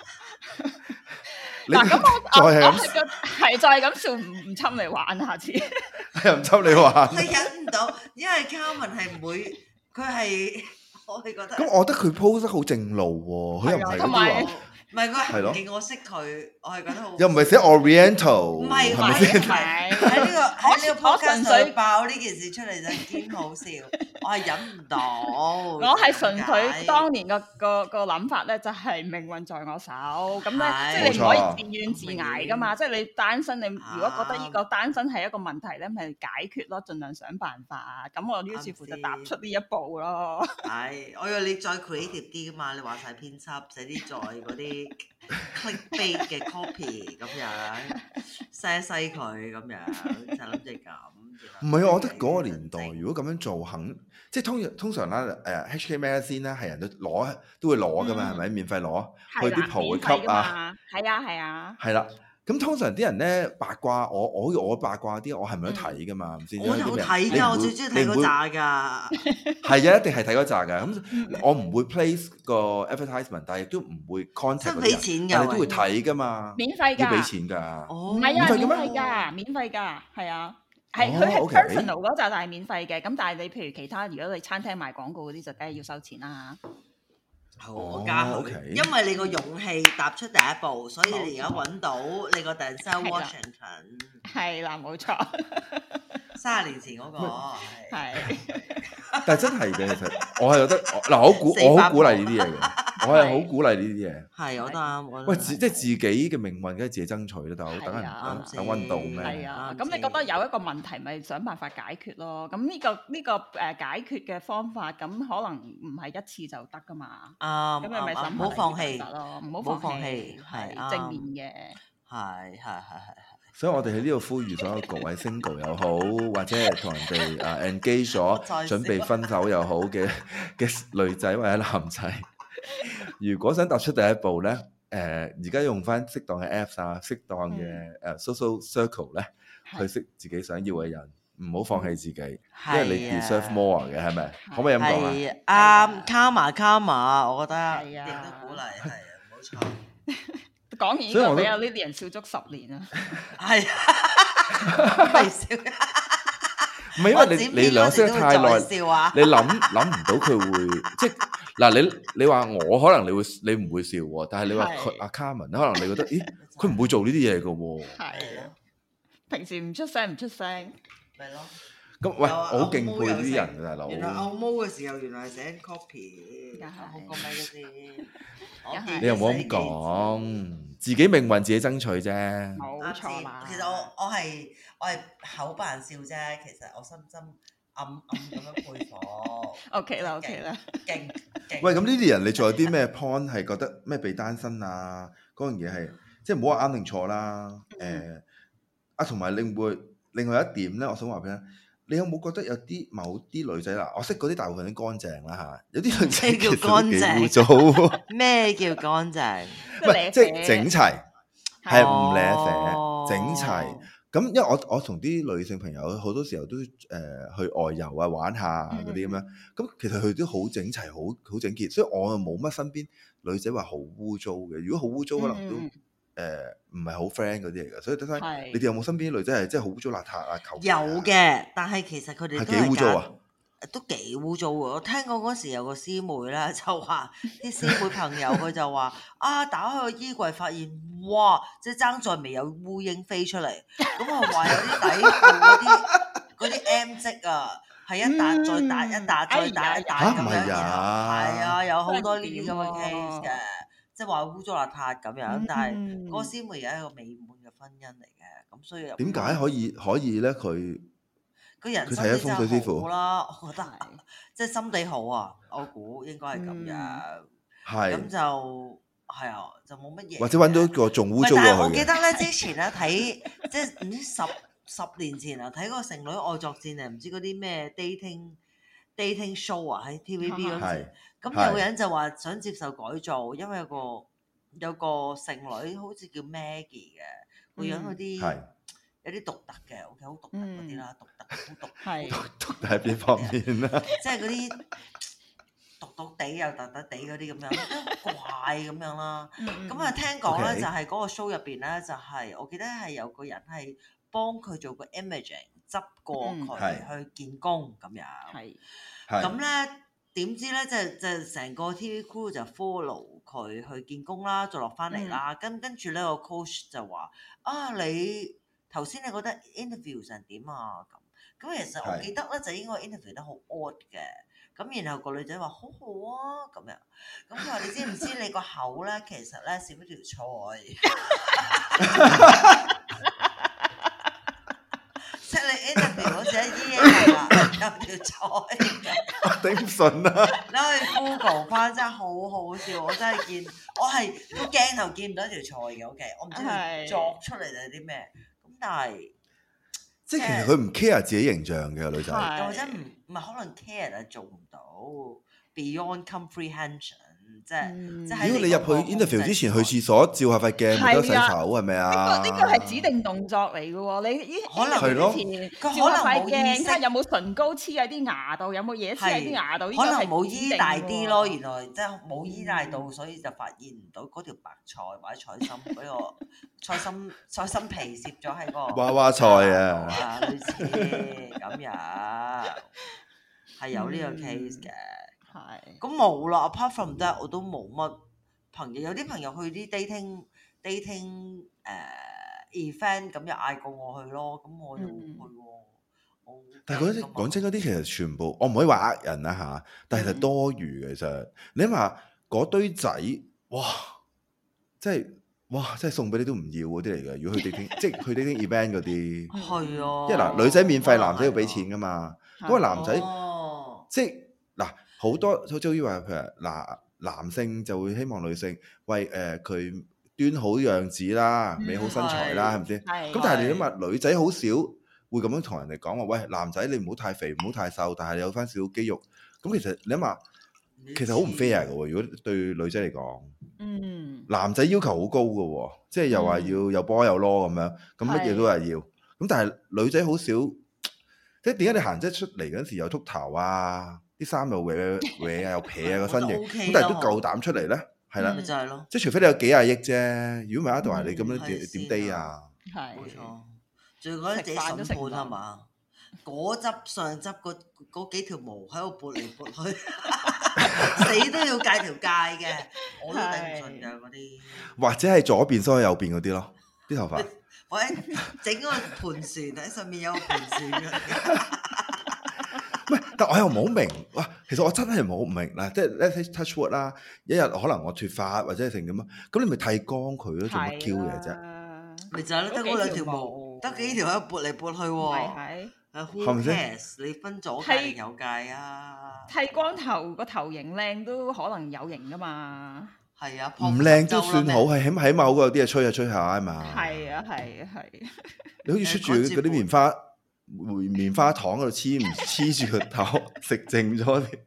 你嗱，咁我我再係咁我係個係就係咁笑，唔唔侵嚟玩下次。 又唔抽你玩。 佢忍唔到，因為 Carmen 係唔會，佢係我係覺得。 咁我覺得佢 post 得好正路喎，佢又唔係嗰同埋啲話， 唔係佢係係咯唔見我識佢，我係覺得好。 又唔係寫 Oriental， 唔係係咪先？ 唔係喺呢個喺呢個我純 podcast 粹上爆呢件事出嚟就堅好笑，我係忍唔到。 我係純粹點解當年個個個諗法咧，就係命運在我手。咁咧， 係即係你唔可以冇錯自怨自艾噶嘛。即係你單身，你如果覺得呢個單身係一個問題咧，咪解決咯，盡量想辦法啊。咁我於是乎就踏出呢一步咯。 係，我以為你再 creative 啲噶嘛，你話晒編輯寫啲再嗰啲 clickbait 嘅 copy 咁樣，篩一篩佢咁樣，就諗住咁。 唔係啊，我覺得嗰個年代如果咁樣做，肯即係通通常啦，誒 H K Magazine 咧係人都攞都會攞噶嘛，係咪？免費攞去啲鋪會吸啊， 係啊係啊。 係啦。咁通常啲人咧八卦，我我我八卦啲，我係咪都睇噶嘛？唔知我有睇㗎，我最中意睇嗰扎㗎。 係啊，一定係睇嗰扎㗎。咁我唔會 place 個 advertisement，但係亦都唔會 contact 嗰啲人，但係都會睇㗎嘛。 免費㗎， 要俾錢㗎。 哦， 唔係啊，免免費嘅咩費㗎，免費㗎，係啊。係哦佢係 OK personal 嗰扎就係免費嘅，咁但係你譬如其他，如果你餐廳賣廣告嗰啲就梗係要收錢啦。 好， 哦我加佢 OK 因為你個勇氣踏出第一步，所以你而家揾到你個 Denzel 係啦 Washington， 係啦，冇錯， 三十年前嗰個係。 係但係真係嘅，其實我係覺得嗱，我鼓我好鼓勵呢啲嘢嘅，我係好鼓勵呢啲嘢。 係，我都啱。我都喂， 啱自即係自己嘅命運，梗係自己爭取啦，大佬，等人係啊等等運到啱咩？ 係啊， 啱咁你覺得有一個問題，咪想辦法解決咯。咁呢個呢個誒解決嘅方法，咁可能唔係一次就得噶嘛。 啱咁你咪啱啱審唔好放棄核你得咯，唔好唔好放放棄棄， 係係正面嘅。 係係係係所以我哋喺呢度呼籲所有各位 single 又好，或者係同人哋啊 engage 咗再準備分手又好嘅嘅女仔或者男仔，如果想踏出第一步咧，誒而家用翻適當嘅 apps 啊，適當嘅誒 social circle 咧，去識自己想要嘅人，唔好放棄自己，因為你 deserve more 嘅，係咪？可唔可以咁講啊？ 係啱，karma karma，我覺得係啊亦都鼓勵，係啊，冇錯。 講完呢所以我都個俾阿 Lilian 笑足十年啊！ 係啊，微笑。 唔係因為你你兩識得太耐， 笑啊！ 你諗諗唔到佢會即係嗱，你你話我可能你會你唔會笑喎，但係你話佢係阿 Carmen 可能你覺得，咦佢唔會做呢啲嘢嘅喎。 係啊，平時唔出聲唔出聲， 咪咯。 咁喂， 有啊我好敬佩歐毛呢啲人嘅大佬。 原來歐毛嘅時候，原來係寫 copy， 梗係好過咪嗰啲。我梗係見你又冇咁寫幾講，自己命運自己爭取啫。 冇啱錯啦。 先其實我我係我係口扮笑啫，其實我心心暗暗咁樣佩服。 OK 啦，OK 啦。 勁勁。 喂，咁呢啲人你仲有啲咩 point 係覺得咩被單身啊？嗰樣嘢係即係唔好話啱定錯啦。誒啊，同埋另外另外一點咧，我想話俾你聽。你有冇覺得有啲某啲女仔啦？我識嗰啲大部分都乾淨啦嚇，有啲女仔咩叫其實都幾乾淨污糟喎。 咩叫乾淨？ 唔係即係整齊，係唔舐哦啡，整齊。咁因為我我同啲女性朋友好多時候都誒、呃、去外遊啊玩下嗰啲咁樣，咁其實佢哋都好整齊，好好整潔，所以我又冇乜身邊女仔話好污糟嘅。如果好污糟，可能都嗯誒唔係好 friend 嗰啲嚟嘅。所以等等， 係你哋有冇身邊啲女仔係真係好污糟邋遢啊？求其有啊嘅，但係其實佢哋係都幾污糟啊！ 揀，都幾污糟喎！我聽講嗰時有個師妹咧，就話啲師妹朋友佢就話啊，打開個衣櫃發現，哇！即係爭在未有烏蠅飛出嚟，咁我話有啲底褲嗰啲嗰啲 M 跡啊，係一笪再笪一笪再笪一笪咁樣， 嚇唔係然後啊係啊，有好多呢啲咁嘅真係 case 嘅，即係話污糟邋遢咁樣，但係嗰個師妹而家係一個美滿嘅婚姻嚟嘅，咁所以點解可以可以咧？佢個人佢睇下風水師傅好啦，我覺得即係心地好啊，我估應該係咁樣，咁係就係啊，就冇乜嘢。 或者揾到一個仲污糟過唔係但係我佢嘅。 記得咧，之前咧睇即係唔知十十年前啊，睇嗰個《剩女愛作戰》啊，唔知嗰啲咩 dating dating show 啊，喺 T V B 嗰陣時，咁有個人就話想接受改造，因為有個有個剩女好似叫 Maggie 嘅，個樣有啲係有啲獨特嘅，OK 好獨特嗰啲啦，獨特好獨係獨喺邊方面啦？ 即係嗰啲獨獨地又突突地嗰啲咁樣，都怪咁樣啦。咁啊，聽講咧 OK 就係嗰個 show 入邊咧，就係我記得係有個人係幫佢做個 imaging，執過嗯佢去見工咁樣。 係係咁咧點知咧，即係即係成個 T V crew 就 follow 佢去見工啦，再落翻嚟啦。跟跟住咧個 coach 就話：啊，你頭先你覺得 interview 成點啊？咁咁其實我係記得咧就應該 interview 得好 odd 嘅。咁然後個女仔話：好好啊，咁樣。咁佢話：你知唔知你個口咧其實咧少咗條菜？即係你 interview 嗰時咧，依啦有條菜嘅。 我頂唔順啊！ 你可以 Google 翻，真係好好笑。我真係見，我係個鏡頭見唔到一條菜嘅。OK，我唔知佢係作出嚟定係啲咩。咁但係即係其實佢唔 care 自己形象嘅女仔， 係又或者唔唔係可能 care 但係做唔到 beyond comprehension，即係嗯即係喺如果你入去嗰個 interview 之前去控制廁所照下塊鏡，咪得洗手係啊係咪呢啊？ 個呢個係指定動作嚟嘅喎，你依可能係咯之前佢可能照下塊冇意鏡， 識睇下有冇唇膏黐喺啲牙度，有冇嘢黐喺啲牙度，呢個可能係冇醫大指定嘅喎啲咯，原來即係冇醫大到，所以就發現唔到嗰條白菜或者菜心嗰個菜心菜心皮攝咗喺個娃娃菜啊啊，類似咁樣係有呢個 case 嘅。 係。 咁冇啦，apart from that 我都冇乜朋友，有啲朋友去啲 dating dating 誒、uh, event 咁又嗌過我去咯，咁我又冇去喎。我但係嗰啲講真嗰啲其實全部我唔可以話呃人啦嚇，但係其實多餘嘅。其實你諗下嗰堆仔，哇！即係哇！即係送俾你都唔要嗰啲嚟嘅。如果去 dating 即係去 dating event 嗰啲， 係啊， 即係嗱女仔免費，男仔要俾錢噶嘛。嗰個男仔哦， 即係嗱好多好似話譬如嗱男性就會希望女性為誒佢端好樣子啦、美好身材啦，係咪先？ 係咁但係你諗下，女仔好少會咁樣同人哋講話，喂，男仔你唔好太肥，唔好太瘦，但係你有翻少少肌肉。咁其實你諗下，其實好唔 fair 嘅喎。如果對女仔嚟講， 嗯， 男仔要求好高嘅喎，即係又話要有波有攞咁樣，咁乜嘢都係要。咁但係女仔好少，即係點解你行即出嚟嗰陣時有禿頭啊，啲衫又搲搲啊，又撇啊個身形，咁但係都夠膽出嚟咧，係啦， 咪就係咯， 即係除非你有幾廿億啫，如果唔係一度係你咁樣點點 day 啊？ 係冇錯。仲要覺得自己審判係嘛？嗰執上執嗰嗰幾條毛喺度撥嚟撥去，死都要戒條界嘅，我都頂唔順㗎嗰啲。 或者係左邊梳右邊嗰啲咯，啲頭髮。 或者整個盤船喺上面有個盤船嘅。 唔係，但我又唔好明。哇，其實我真係唔好明嗱，即係 let's touch wood 啦。一日可能我脫髮或者係成點啊，咁你咪剃光佢咯，做乜 Q 嘢啫？ 咪就係咯，得嗰兩條毛，得幾條喺度撥嚟撥去喎。 係係 who cares？你分左界定右界啊？ 剃光頭個頭型靚都可能有型噶嘛。 係啊， 唔靚都算好，係起碼起碼好過有啲嘢吹下吹下啊嘛。 係啊係啊係。 你好似出住嗰啲棉花棉花糖喺度黐唔黐住個頭，食剩咗啲。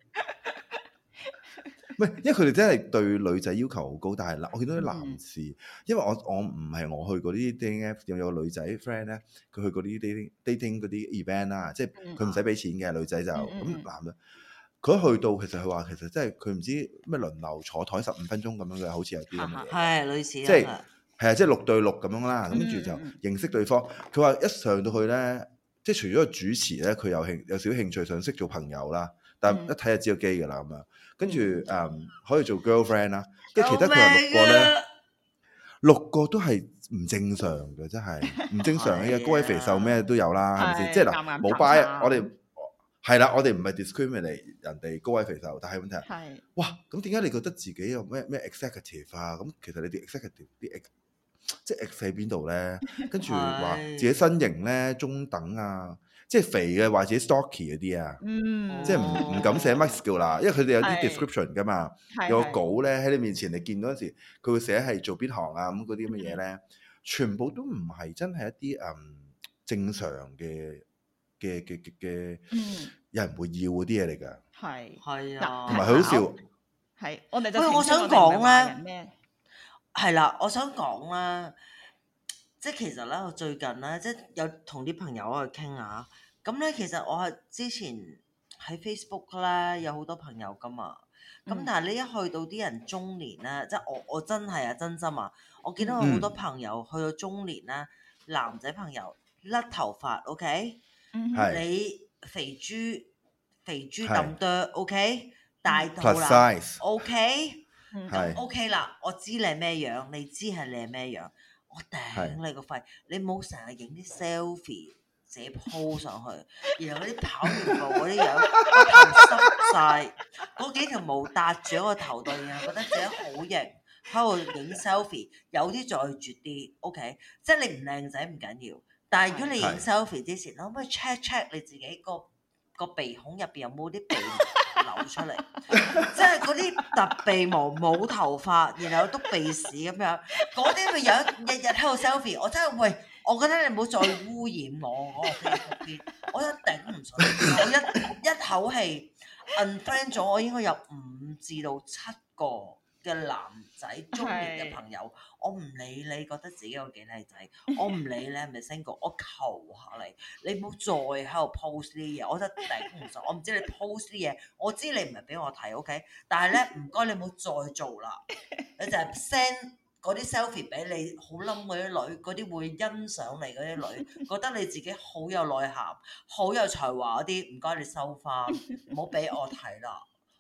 唔係，因為佢哋真係對女仔要求好高，但係嗱，我見到啲男士，嗯、因為我我唔係我去嗰啲 dating app，有有個女仔 friend 咧，佢去嗰啲 dating dating 嗰啲 event 啦，即係佢唔使俾錢嘅，女仔就咁、嗯、男嘅。佢一去到，其實佢話其實真係佢唔知咩輪流坐台十五分鐘咁樣嘅，好似有啲咁嘅嘢。 係類似， 即係係啊，即係六對六咁樣啦。咁跟住就認識對方。佢話一上到去咧，即係除咗個主持咧，佢有興有少興趣想識做朋友啦。但係一睇就知個機㗎啦咁樣。跟住誒可以做 girlfriend 啦。跟住其他佢話六個咧，六個都係唔正常嘅，真係唔正常嘅。高矮肥瘦咩都有啦，係咪先？即係嗱，冇 bias，我哋。係啦，我哋唔係 discriminate 人哋高矮肥瘦，但係問題係，哇，咁點解你覺得自己有咩咩 executive 啊？咁其實你啲 executive 啲 ex 即係 ex 喺邊度咧？跟住話自己身形咧中等啊，即係肥嘅話自己 stocky 嗰啲啊，嗯、即係唔唔敢寫 muscle 啦，因為佢哋有啲 description 噶嘛，有個稿咧喺你面前你見到嗰時，佢會寫係做邊行啊咁嗰啲咁嘅嘢咧，嗯、全部都唔係真係一啲嗯正常嘅。嘅嘅嘅嘅，有人會要嗰啲嘢嚟㗎， 係係啊， 同埋佢好笑， 係我哋就喂，我想講咧，係啦，我想講啦，即係其實咧，我最近咧，即係有同啲朋友去傾下，咁咧其實我係之前喺 Facebook 咧有好多朋友㗎嘛，咁、嗯、但係你一去到啲人中年咧，即係我我真係啊真心啊，我見到好多朋友去到中年咧，嗯、男仔朋友甩頭髮 ，OK？ 嗯、 你肥豬肥豬咁多 OK， 大肚啦 size OK， 咁 OK 啦，我知你係咩樣，你知係你係咩樣，我頂你個肺，你冇成日影啲 selfie 自己 po 上去，然後嗰啲跑完步嗰啲樣，個頭濕晒，嗰幾條毛搭住喺個頭度，然後覺得自己好型，喺度影 selfie， 有啲再絕啲 OK， 即係你唔靚仔唔緊要。但係如果你影 selfie 之前，可唔可以 check check 你自己個個鼻孔入邊有冇啲鼻毛流出嚟？即係嗰啲突鼻毛冇頭髮，然後篤鼻屎咁樣，嗰啲咪樣日日喺度 selfie。我真係喂，我覺得你唔好再污染我嗰個 Facebook 邊，我真係頂唔順。我一一口氣 unfriend 咗我應該有五至到七個嘅男仔中年嘅朋友，是我唔理你覺得自己有幾靚仔，我唔理你係咪 single， 我求下你，你唔好再喺度 post 啲嘢，我真係頂唔順。我唔知你 post 啲嘢，我知你唔係俾我睇 ，OK？ 但係咧唔該你唔好再做啦，你就係 send 嗰啲 selfie 俾你好冧嗰啲女，嗰啲會欣賞你嗰啲女，覺得你自己好有內涵、好有才華嗰啲，唔該你收翻，唔好俾我睇啦。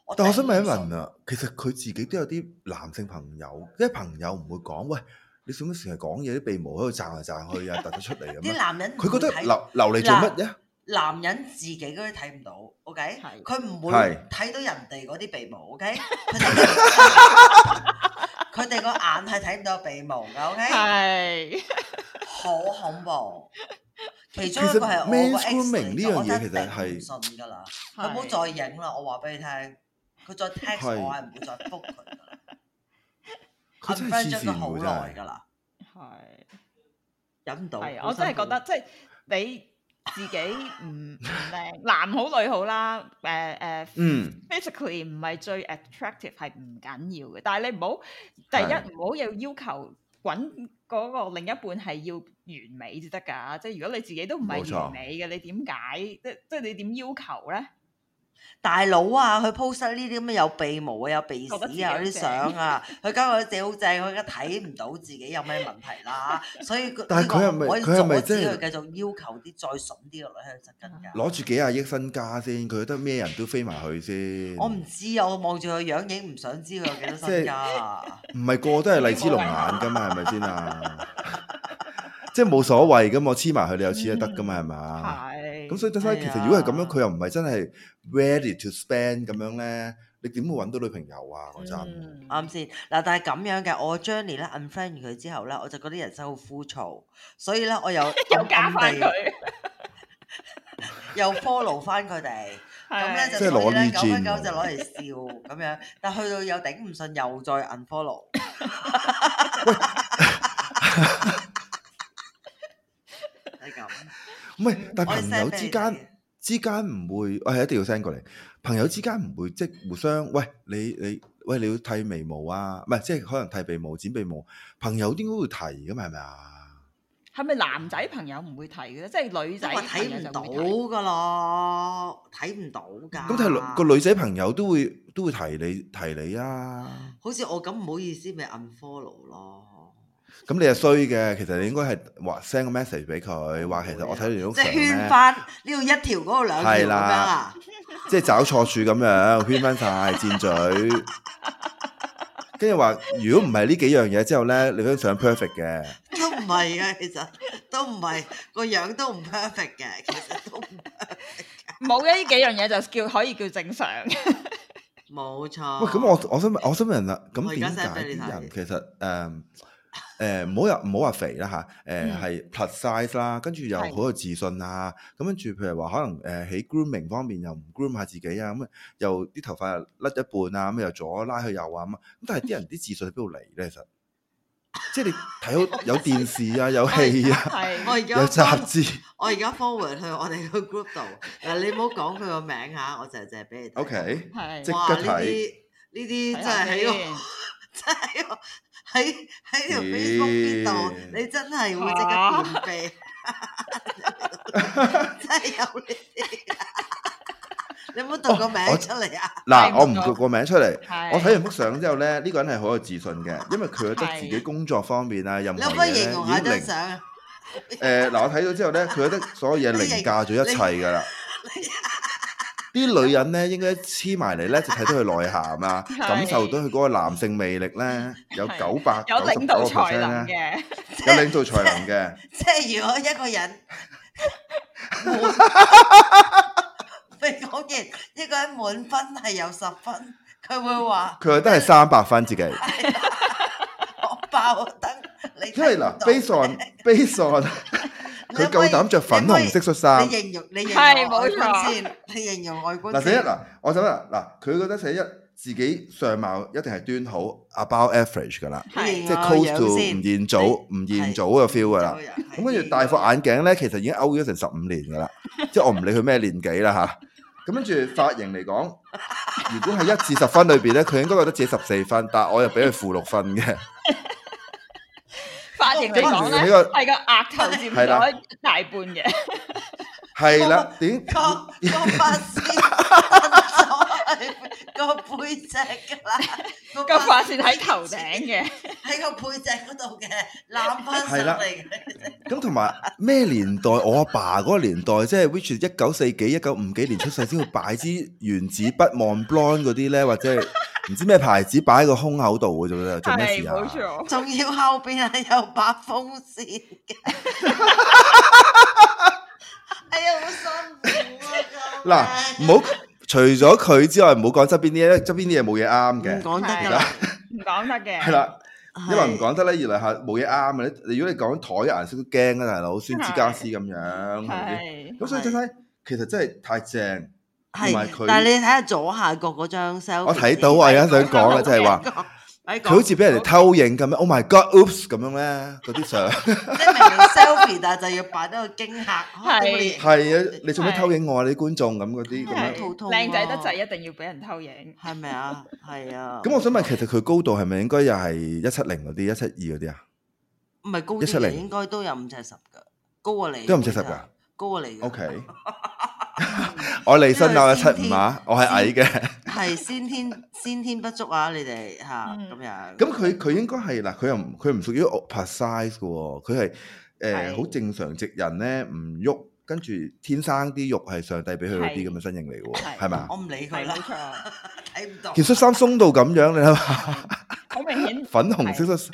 但我想問一問啊，其實佢自己都有啲男性朋友，即係朋友唔會講，喂，你做乜成日講嘢啲鼻毛喺度賺嚟賺去啊，突咗出嚟咁啲男人佢覺得唔會睇留留嚟做乜啫？ 男人自己嗰啲睇唔到，OK？ 係佢唔會係睇到人哋嗰啲鼻毛，OK？佢哋佢哋個眼係睇唔到鼻毛㗎，OK？ 係好恐怖。其其中一個係實我個 men's ex grooming 呢樣嚟㗎， 嘢其實我係真係頂唔順㗎啦。 係佢唔好再影啦，我話俾你聽。佢再 text 係我係唔會再覆佢㗎啦。 佢真係 unfriend 黐咗佢好線喎，真係。 耐㗎啦， 係忍唔到。 係， 好我真係辛苦覺得即係你自己唔唔靚，男好女好啦，誒誒嗯， physically 唔係最 attractive 係唔緊要嘅，但係你唔好第係一唔好有要求揾嗰個另一半係要完美至得㗎，即係如果你自己都唔冇錯係完美嘅，你點解即即係你點要求咧？ 大佬啊，佢 post 呢啲咁嘅有鼻毛啊、有鼻屎覺得自己啊嗰啲好正相啊，佢交佢自己好正，佢而家睇唔到自己有咩問題啦，所以佢但係佢係咪呢個唔可以佢係咪阻止即係佢繼續要求啲再筍啲嘅女喺度側跟㗎。 攞住幾廿億身家先，佢覺得咩人都飛埋去先。 我唔知啊，我望住佢樣影唔想知佢有幾多身家啊。 唔係個個都係荔枝龍眼噶嘛，係咪先啊？即係冇所謂噶嘛，我黐埋佢，你又黐得得噶嘛，係嘛？ 係咁所以所以其實如果係咁樣，佢又唔係真係 ready to spend 咁樣咧，你點會揾到女朋友啊？嗰陣嗯啱先嗱，但係咁樣嘅，我 Journey 咧 unfriend 完佢之後咧，我就覺得人生好枯燥，所以咧我又又加暗暗地翻佢， 又 follow 翻佢哋，咁咧係就所以咧即係攞呢久不久轉就攞嚟笑咁樣，但去到又頂唔順，又再 unfollow。係咁， 唔係，但係我哋朋 send 友之間俾你睇之間唔會，我係一定要 send 過嚟。朋友之間唔會即係互相，喂你你喂你要剃眉毛啊？唔係即係可能剃鼻毛、剪鼻毛，朋友應該會提噶嘛？係咪啊？ 係咪男仔朋友唔會提嘅咧？即係女仔我朋睇唔到友就會提。 㗎咯，睇唔到㗎。 咁但係個女仔朋友都會都會提你提你啊。 好似我咁唔好意思，咪 unfollow 咯。 咁你係衰嘅，其實你應該係話 send 個 message 俾佢，話其實我睇到你張即係相咧， 圈翻呢度一條，嗰度兩條咁樣係啦啊！ 即係找錯處咁樣圈翻晒箭嘴，跟住話如果唔係呢幾樣嘢之後咧，你張相 perfect 嘅。 都唔係嘅，其實都唔係個樣都唔 perfect 嘅，其實都唔 perfect 冇嘅呢幾樣嘢就叫可以叫正常。 冇錯。 喂，咁我我想問我想問啦，咁我而家點 send 解俾你睇啲人其實誒誒唔好又唔好話肥啦嚇，誒係 plus size 啦，跟住又好係有自信啊，咁跟住譬如話可能誒喺 grooming 方面又唔 groom 下自己啊，咁又啲頭髮又甩一半啊，咁又左拉去右啊咁啊，咁但係啲人啲自信喺邊度嚟咧？其實即係你睇到有電視啊，有戲啊， 係我而家有雜誌。 我而家 forward 去我哋個 group 度嗱，你唔好講佢個名嚇，我就係淨係俾你睇。 OK， 係即哇！呢刻睇啲呢啲真係喺個真係喺個喺喺條咦 Facebook 邊度，你真係會即刻便秘，真係有呢啲。你唔好讀個名我出嚟啊！ 嗱， 睇唔到我唔讀個名出嚟， 係我睇完幅相之後咧，呢個人係好有自信嘅，因為佢覺得自己係工作方面啊，任你可唔可以何嘢咧形容下已經零。 張相啊？ 誒嗱，我睇到之後咧，佢覺得所有嘢你凌駕咗一切㗎啦。啲女人咧應該黐埋嚟咧，就睇到佢內涵啊， 係感受到佢嗰個男性魅力咧，有係九百有九十九個領導才 percent 能咧， 嘅， 有領導才能嘅。 即係如果一個人未講完，一個人滿分係有十分，佢會話佢覺得係三百分自己， 我爆燈，你因為嗱，based on based on 佢夠膽着粉紅色恤衫你。形容你形係容外冇錯觀先，你形容外觀嗱，第一先。 嗱，我就啦，嗱，佢覺得第一自己相貌一定係端好 ，about average 噶啦， 係即係 close to 吳彥祖、吳彥祖嘅 feel 噶啦。咁跟住戴副眼鏡咧，其實已經 out 咗成十五年噶啦，即係我唔理佢咩年紀啦吓。咁跟住髮型嚟講，如果係一至十分裏邊咧，佢應該覺得自己十四分，但係我又俾佢負六分嘅。 髮型嚟講咧， 呢個係個額頭佔係啦咗大半嘅。 係啦，點個個髮線咗個背脊㗎啦， 個髮線喺頭頂嘅， 喺喺個背脊嗰度嘅攬翻上嚟嘅。 咁同埋咩年代？我阿爸嗰個年代，即係 which 一九四幾、一九五幾年出世先會擺支原子筆 Mont Blanc 嗰啲咧，或者係唔知咩牌子擺喺個胸口度嘅啫，做咩事啊？ 係冇錯， 仲要後邊係有把風扇嘅。哎呀，好辛苦啊！ 嗱，唔好除咗佢之外，唔好講側邊啲嘢，因為側邊啲嘢冇嘢啱嘅。 唔講得㗎係啦。 唔講得嘅。 係啦，因為唔係講得咧，原來係冇嘢啱嘅。你如果你講台嘅顏色都驚啊，大佬，酸枝家私咁樣，係咪先？ 係咁所以真係其實真係太正，同埋係， 佢。 但係你睇下左下角嗰張 selfie， 我睇到，我而家想講嘅就係話，佢好似俾人哋偷影咁樣。Oh my god！Oops 咁樣咧，嗰啲相。 即係明明 selfie，但係就要擺到個驚嚇。 係係啊，你做咩偷影我啊？你啲觀眾咁嗰啲咁樣。 係肚痛啊靚仔得滯，一定要俾人偷影。 係咪啊？係啊。 咁我想問，其實佢高度係咪應該又係一七零嗰啲、一七二嗰啲啊？ 唔係高一七零啲嘅，應該都有五尺十㗎，高過你。 都有五尺十㗎， 高過你㗎。 OK，我離身我一七五啊，我係矮嘅。 係先天先天不足啊！你哋嚇嗯咁樣。 咁佢佢應該係嗱，佢又唔佢唔屬於 oversize 嘅喎，佢係誒係好正常直人咧，唔喐，跟住天生啲肉係上帝俾佢嗰啲係咁嘅身形嚟嘅喎， 係係咪啊我？唔理佢啦係冇，錯， 睇唔到。 件恤衫鬆到咁樣，你諗下， 好明顯。 粉紅色恤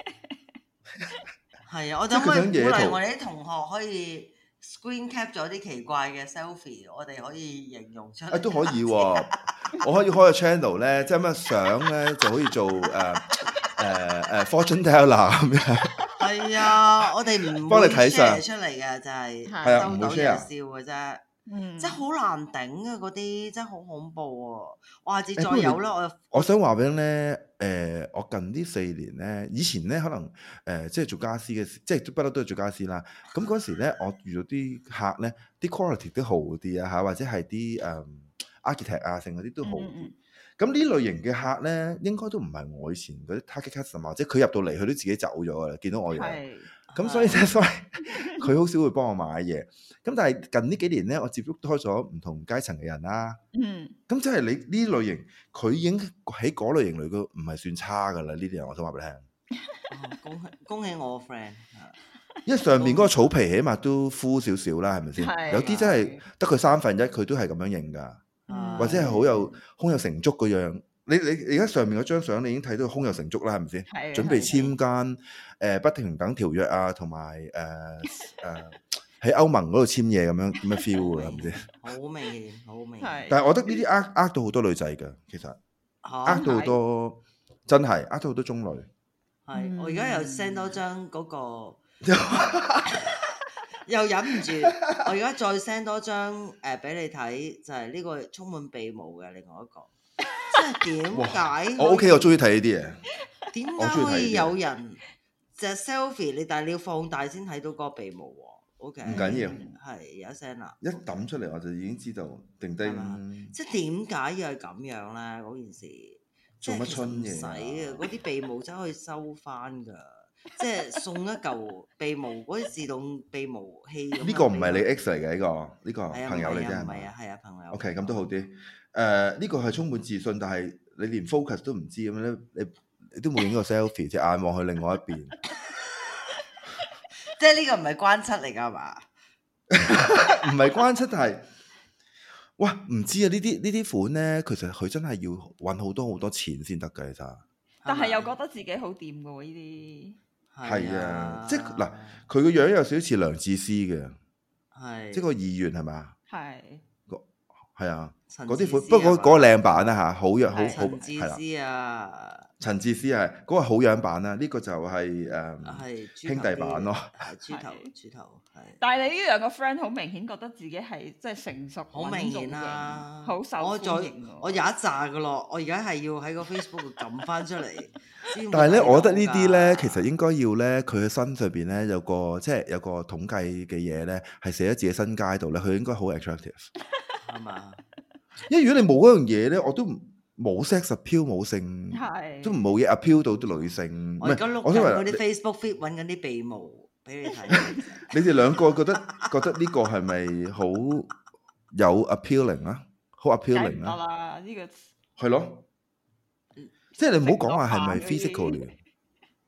係啊，我即係佢就可以鼓想野圖勵我哋啲同學可以 screen cap 咗啲奇怪嘅 selfie，我哋可以形容出嚟。 啊都可以喎，我可以開個 channel 咧，即係乜相咧就可以做誒誒誒 fortune teller 咁樣。 係啊，我哋唔會幫你睇相 share 出嚟嘅，就係係啊唔會收到就 share 笑嘅啫。 嗯， 真係好難頂啊！嗰啲真係好恐怖啊！我下次再誒不過你有啦，我我想話俾你咧，誒、我近呢四年咧，以前咧可能誒、即係做家私嘅時，即係不嬲都係做家私啦。咁嗰時咧，我遇到啲客咧，啲 quality 都好啲啊嚇，或者係啲誒 architect 啊，成嗰啲都好啲。 嗯嗯咁呢類型嘅客咧，應該都唔係我以前嗰啲 target customer，或者佢入到嚟佢都自己走咗噶啦，見到我樣。 係咁所以咧，所以佢好少會幫我買嘢。咁但係近呢幾年咧，我接觸多咗唔同階層嘅人啦。 嗯咁即係你呢類型，佢已經喺嗰類型裏邊唔係算差噶啦。呢啲人我想話俾你聽， 哦恭喜恭喜我個 friend。 因為上面嗰個草皮起碼都敷少少啦，係咪先？ 係有啲真係得佢三分一，佢都係咁樣認㗎， 嗯或者係好有胸有成竹嗰樣。你你而家上面嗰張相，你已經睇到胸有成竹啦，係咪先？ 係準備簽間誒不停等條約啊，同埋誒誒喺歐盟嗰度簽嘢咁樣咁樣 feel 㗎啦，係咪先？ 好明顯，好明顯。 係但係我覺得呢啲呃呃到好多女仔㗎，其實呃嚇到好多真係呃到好多中女。 係，我而家又 send 多張嗰個，又忍唔住，我而家再 send 多張誒俾你睇，就係呢個充滿鼻毛嘅另外一個，即係點解？ 我 OK，我中意睇呢啲嘢。 點我中意睇呢啲解可以有人隻 selfie 你，但係你要放大先睇到嗰個鼻毛喎？OK， 唔緊要係有一聲啦。 一抌出嚟我就已經知道定定係嘛即係點解要係咁樣咧？嗰件事做乜春嘢唔使啊啊！嗰啲鼻毛真係可以收翻㗎，即係送一嚿鼻毛嗰啲自動鼻毛器咁樣。 呢個唔係你 X 嚟嘅呢個，呢個係啊朋友嚟啫係唔係咪啊，係啊，朋友。 ？OK，咁都好啲。誒，呢個係充滿自信，但係你連 focus 都唔知咁樣咧，你你都冇影個 selfie，隻眼望去另外一邊。 即係呢個唔係關七嚟㗎嘛？ 唔係關七，但係哇唔知啊！呢啲呢啲款咧，其實佢真係要揾好多好多錢先得㗎，其實。 但係又覺得自己好掂嘅喎呢啲。 係啊，即係嗱，佢個樣有少少似梁智思嘅， 係即係個議員係咪啊？ 係係啊， 陳嗰啲款， 智思不過嗰係嘛嗰個靚版啦嚇，好樣好係好陳智係啦。 思啊， 陳智思係嗰個好樣版啦，呢個就係誒係豬兄頭啲弟版咯。 係豬頭係豬頭係。 但係你呢兩個 friend 好明顯覺得自己係即係成熟好明顯啦， 好受我再歡迎喎我有一紮噶咯，我而家係要喺個 Facebook 度撳翻出嚟。先會但係咧， 睇我覺得到呢啲咧， 㗎其實應該要咧，佢嘅身上邊咧有個即係有個統計嘅嘢咧，係寫喺自己身街度咧，佢應該好 attractive。 係嘛？ 因為如果你冇嗰樣嘢咧，我都唔冇 sex appeal 冇性， 係都冇嘢 appeal 到啲女性。 我而家碌我想話緊嗰啲 Facebook feed 揾緊啲鼻毛俾你睇。 你哋兩個覺得覺得呢個係咪好有 appealing 啊？好梗係唔 appealing 得啊？ 啦，呢個係咯，即係你唔好講話係咪食咗飯嗰啲 physically，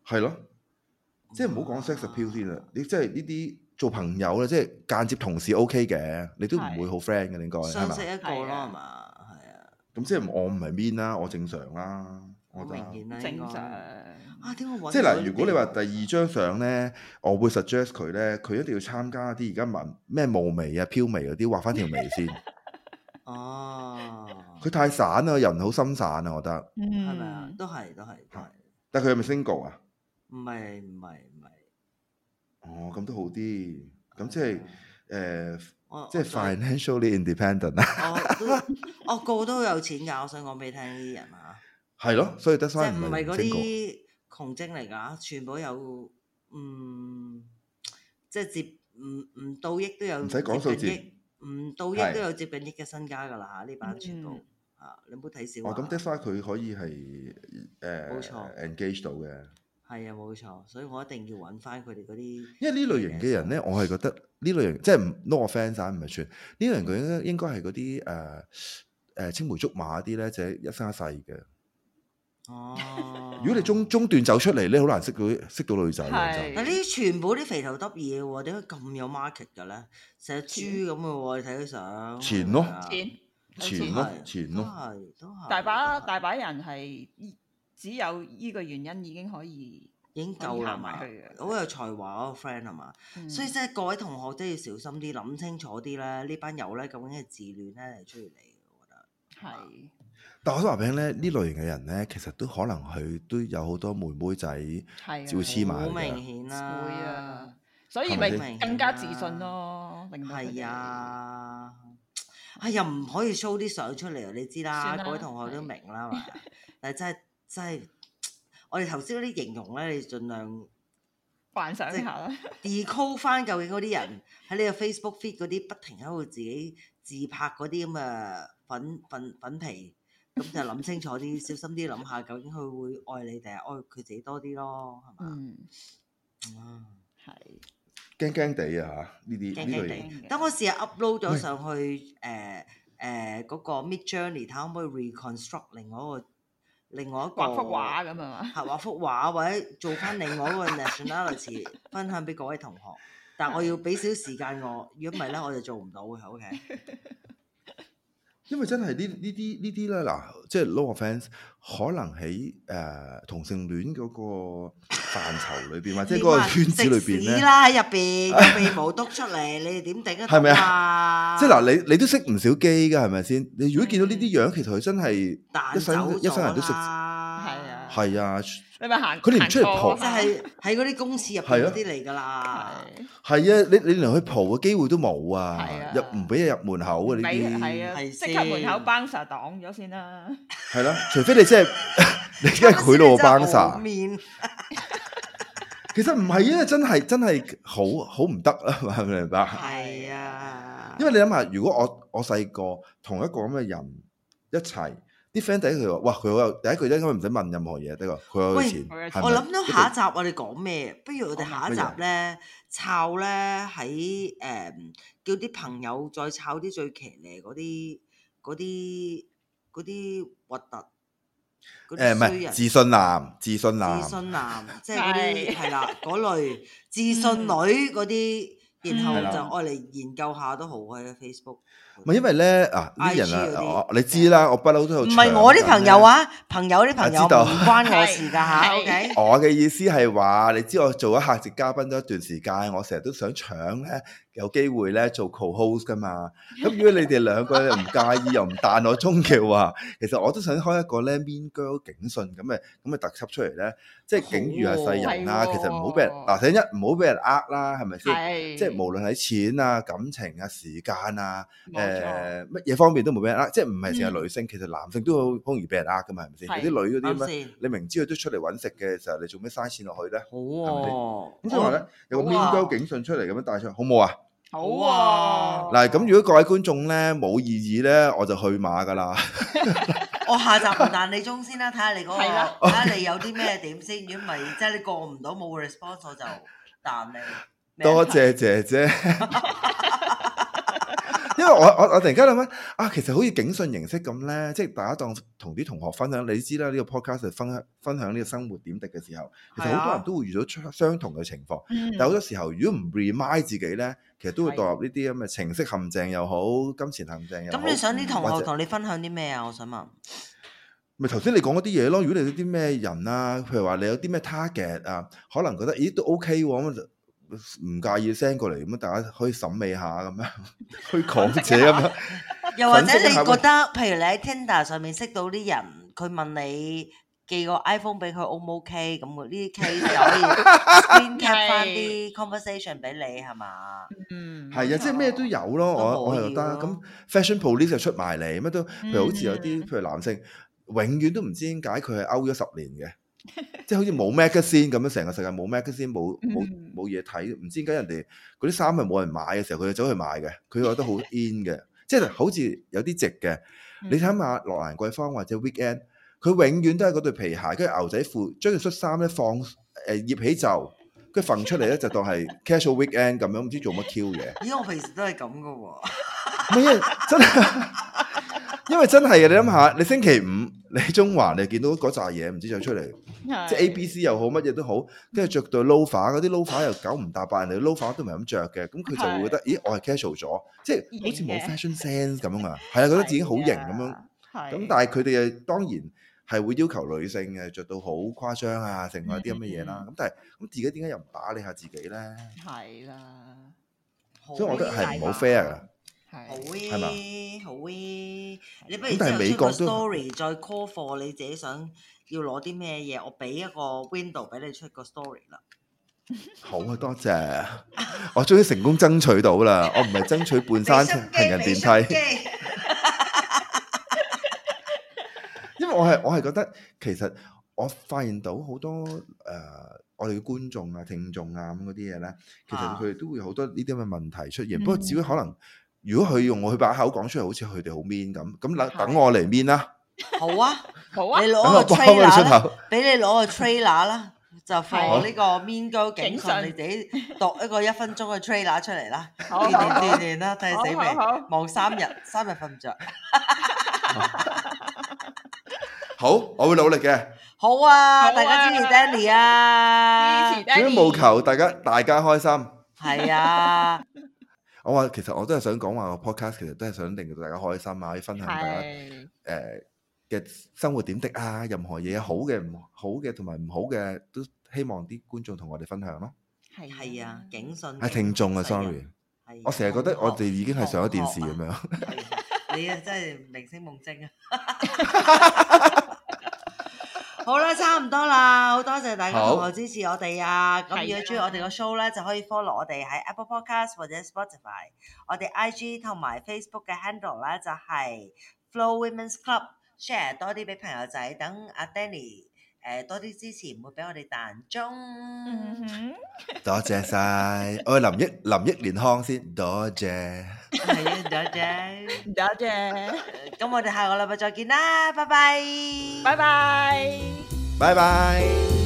係咯，即係唔好講 sex appeal 先啦，你即係呢啲做朋友咧，即係間接同事 OK 嘅，你都唔會好 friend 嘅應該係相識嘛？ 一個咯係嘛？係啊， 咁即係我唔係 mean 啦，我正常啦，我好覺得。 明顯啦， 正常。 啊，點解揾即係嗱， 到呢如果你話啲第二張相咧，我會 suggest 佢咧，佢一定要參加啲而家紋咩霧眉啊、飄眉嗰啲，畫翻條眉先。 哦， 佢太散啦，人好心散啊，我覺得。 嗯， 係咪啊？都係都係都係， 但係佢係咪 single 啊？ 唔係唔係唔係， 哦，咁都好啲。咁即係誒， 我即係 financially independent 啊。 我都我個個都好有錢㗎，我想講俾你聽呢啲人啊。 係咯，所以得即翻係唔係嗰 single。 啲窮精嚟㗎，全部有嗯，即係接唔唔到億都有唔使講數字接近億，唔到億係都有接近億嘅身家㗎啦嚇，呢班全部嗯啊，你唔好睇少哦， 啊。 咁 that's why 佢可以係誒冇錯 engage 到嘅。 係啊，冇錯，所以我一定要揾翻佢哋嗰啲。 因為呢類型嘅人咧，我係覺得呢類型即係唔 no offence 啊，唔係串呢類型佢應該應該係嗰啲誒誒青梅竹馬啲咧，就係一生一世嘅。 哦， 如果你中中段走出嚟咧，好難識到識到女仔嘅係嗱呢啲全部啲肥頭耷嘢喎，點解咁有 market 嘅咧？成隻豬咁嘅喎，你睇佢相。 錢咯係啊錢就錢咯係錢都咯。 係都係。 大把都係大把人係只有依個原因已經可以已經夠啦嘛可以行埋去嘅， 好有才華嗰個 friend 係嘛？ 嗯所以即係各位同學真係要小心啲，諗清楚啲啦。呢班友咧究竟係自戀咧定係中意你？我覺得係但我想話俾你聽咧，呢類型嘅人咧，其實都可能佢都有好多妹妹仔係照黐埋好嘅明顯啦， 會啊，所以係咪咪更加自信咯，令到佢係哋啊，係又唔可以 show 啲相出嚟，你知啦， 算啦各位同學都明啦嘛。但係真係真係，我哋頭先嗰啲形容咧，你盡量幻想一下啦。 decode 翻究竟嗰啲人喺你個 Facebook feed 嗰啲不停喺度自己自拍嗰啲咁嘅粉粉粉皮，咁就諗清楚啲，小心啲諗下，究竟佢會愛你定係愛佢自己多啲咯，係嘛？ 嗯， 啊係驚驚地啊嚇！呢啲驚驚呢類型地。等我試下 upload 咗上去誒誒嗰個 Mid Journey，睇可唔可以 reconstruct 另外一個另外一個畫幅畫咁啊嘛。 係畫幅畫，或者做翻另外一個 nationality 分享俾各位同學。但我要俾少時間我，如果唔係咧，我就做唔到嘅。OK。 因為真係呢呢啲呢啲咧嗱，即係 no offence，可能喺誒、呃、同性戀嗰個範疇裏邊，或者嗰個圈子裏邊咧， 食屎啦喺入邊，有鼻毛篤出嚟，你哋點頂得係咪到啊？ 即係嗱，你你都識唔少基㗎，係咪先？你如果見到呢啲樣，其實佢真係一彈走生一生人都識， 啦， 係啊係啊， 你咪行， 佢哋唔出嚟行蒲即係喺嗰啲公廁入邊嗰啲嚟㗎啦。 係係啊，你你連去蒲嘅機會都冇啊係啊， 入唔俾你入門口啊呢俾啲， 係啊， 係即刻門口先 bouncer 擋咗先啦。 係啦，除非你真係你真係賄賂我班真係沙好。面其實唔係啊，真係真係好好唔得啊，係咪明白？ 係啊， 因為你諗下，如果我我細個同一個咁嘅人一齊，啲 friend 第一句話，哇，佢好有第一句應該唔使問任何嘢，第一個佢好有喂錢。 我係咪我諗到下一集我哋講咩？不如我哋下一集乜咧，抄咧喺誒叫啲朋友再抄啲最騎呢嗰啲嗰啲嗰啲核突嗰誒唔係啲衰人。 自信男，自信男自。信男，即係嗰啲係係啦，嗰類自信女嗰啲，然後係啦就愛嚟研究下都好喺 Facebook。 唔係因為咧啊，呢啲 I G 人啊， 嗰啲我你知啦，我不嬲都有。 唔係我啲朋友，啊，朋友啲朋友我知道唔關我事㗎嚇係 ，OK？ 我嘅意思係話，你知我做咗客席嘉賓咗一段時間，我成日都想搶咧，有機會咧做 co-host 噶嘛。咁如果你哋兩個又唔介意又唔彈我鐘嘅話，其實我都想開一個咧 Mean Girl 警訊咁嘅咁嘅特輯出嚟咧，即係警喻下世人啦。 好喎其實唔好俾人嗱，第一唔好俾人呃啦，係咪先？ 係即係無論喺錢啊、感情啊、時間啊， 冇錯誒乜嘢方面都冇俾人呃，即係唔係淨係女性，其實男性都好好容易俾人呃噶嘛，係咪先？ 係有啲女嗰啲咩？ 啱先， 你明知佢都出嚟揾食嘅時候，你做咩嘥錢落去咧？ 好喎。 咁所以話咧，有個好啊 Mean Girl 警訊出嚟咁樣帶出嚟，好唔好啊？ 好好啊！ 嗱，咁如果各位觀眾咧冇異議咧，我就去馬噶啦。 我下集唔彈你鐘先啦，睇下你嗰個， 係啦睇下你有啲咩點先。如果唔係，即係你過唔到冇 response，我就彈你。 多謝姐姐。因為我我我突然間諗緊啊，其實好似警訊形式咁咧，即係大家當同啲同學分享，你知啦，呢個 podcast 係分享分享呢個生活點滴嘅時候，其實好多人都會遇到出相同嘅情況， 嗯但係好多時候如果唔 remind 自己咧，其實都會墮入呢啲咁嘅情色陷阱又好，金錢陷阱又好。 咁你想啲同或者學同你分享啲咩啊？我想問。 咪頭先你講嗰啲嘢咯，如果你有啲咩人啊，譬如話你有啲咩 target 啊，可能覺得咦都 OK 喎，咁就唔介意 send 過嚟，咁大家可以審美下咁樣，去講者咁樣。 又或者粉飾一下你覺得，譬如你喺 Tinder 上面識到啲人，佢問你寄個 iPhone 俾佢 O 唔 OK？咁呢啲 case 就可以 screen cap 翻啲 conversation 俾你係嘛？ 嗯， 係啊，即係咩都有咯，我我係覺得咁 fashion police 就出埋嚟，乜都譬如好似有啲譬如男性，永遠都唔知點解佢係 out 咗十年嘅，即係好似冇 magazine 咁樣，成個世界冇 magazine 冇冇冇嘢睇，唔知點解人哋嗰啲衫係冇人買嘅時候，佢就走去買嘅，佢覺得好 in 嘅，即係好似有啲值嘅。你睇下羅蘭桂坊或者 Weekend，佢永遠都係嗰對皮鞋，跟住牛仔褲，將條恤衫咧放誒掖起袖，跟住揈出嚟咧就當係 casual weekend 咁樣，唔知做乜 Q 嘢。 咦，我平時都係咁噶喎。 唔係真係。因為真係嘅，你諗下，你星期五你喺中環，你見到嗰扎嘢，唔知就出嚟，即係 A B C 又好，乜嘢都好，跟住着對 loafer，嗰啲 loafer 又九唔搭八，人哋 loafer 都唔係咁着嘅，咁佢就會覺得，咦，我係 casual 咗，即係好似冇 fashion sense 咁啊，係啊，覺得自己好型咁樣，咁但係佢哋誒當然係會要求女性嘅着到好誇張啊，成為一啲咁嘅嘢啦，咁但係咁自己點解又唔打理下自己咧？係啦，所以我覺得係唔好 fair 㗎。 好喎，好喎，你不如但係美國出個 story 再 call for 你自己想要攞啲咩嘢，我俾一個 window 俾你出個 story 啦。 好啊，多謝，我終於成功爭取到啦，我唔係爭取半山行人電梯，因為我係我係覺得其實我發現到好多誒、呃、我哋嘅觀眾啊、聽眾啊咁嗰啲嘢咧，其實佢哋都會有好多呢啲咁嘅問題出現，不過只會可能。如果佢用我佢把口講出嚟，好似佢哋好 mean 咁，咁等等我嚟 mean 啦。 好啊，好啊，你攞個我幫佢出 trailer 口， 俾你攞個 trailer 啦，就放呢個 mean girl 警訊，你自己讀一個一分鐘嘅 trailer 出嚟啦，鍛鍊鍛鍊啦，睇下死未？望三日，三日瞓唔着。 好，我會努力嘅。 好啊，大家支持 Danny 啊，支持 Danny，務求大家大家開心。 係啊。 我話其實我都係想講話個 podcast 其實都係想令到大家開心啊，可以分享大家誒嘅生活點滴啊，任何嘢好嘅、唔好嘅同埋唔好嘅，都希望啲觀眾同我哋分享咯。 係係啊，警訊係聽眾啊 ，sorry，我成日覺得我哋已經係上咗電視咁樣。 你啊真係明星夢精啊！好啦，差唔多啦，好多謝大家同學支持我哋啊！咁如果中意我哋個 show 咧，就可以 follow 我哋喺 Apple Podcast 或者 Spotify， 我哋 I G 同埋 Facebook 嘅 handle 咧就係 Flo Women's Club，share 多啲俾朋友仔，等阿 Danny 誒多啲支持，唔會俾我哋彈鐘。 多謝晒，我林憶林憶蓮康先，多謝， 係啊，多謝， 多謝。 咁我哋下個禮拜再見啦，拜拜， 拜拜， 拜拜。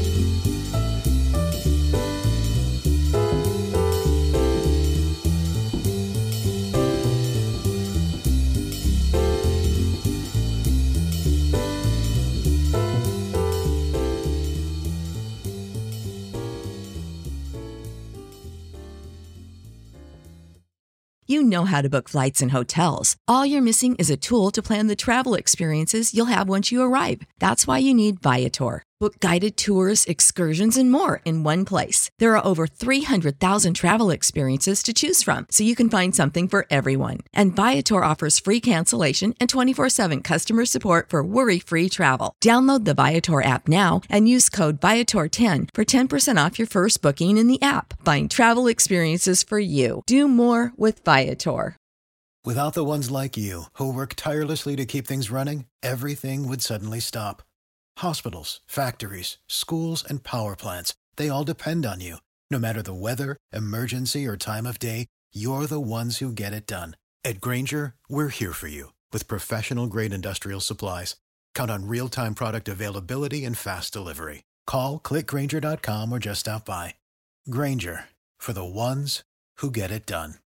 You know how to book flights and hotels. All you're missing is a tool to plan the travel experiences you'll have once you arrive. That's why you need Viator. Book guided tours, excursions, and more in one place. There are over three hundred thousand travel experiences to choose from, so you can find something for everyone. And Viator offers free cancellation and twenty-four seven customer support for worry-free travel. Download the Viator app now and use code Viator ten for ten percent off your first booking in the app. Find travel experiences for you. Do more with Viator. Without the ones like you, who work tirelessly to keep things running, everything would suddenly stop. Hospitals, factories, schools, and power plants, they all depend on you. No matter the weather, emergency, or time of day, you're the ones who get it done. At Grainger, we're here for you with professional-grade industrial supplies. Count on real-time product availability and fast delivery. Call, click Grainger dot com, or just stop by. Grainger, for the ones who get it done.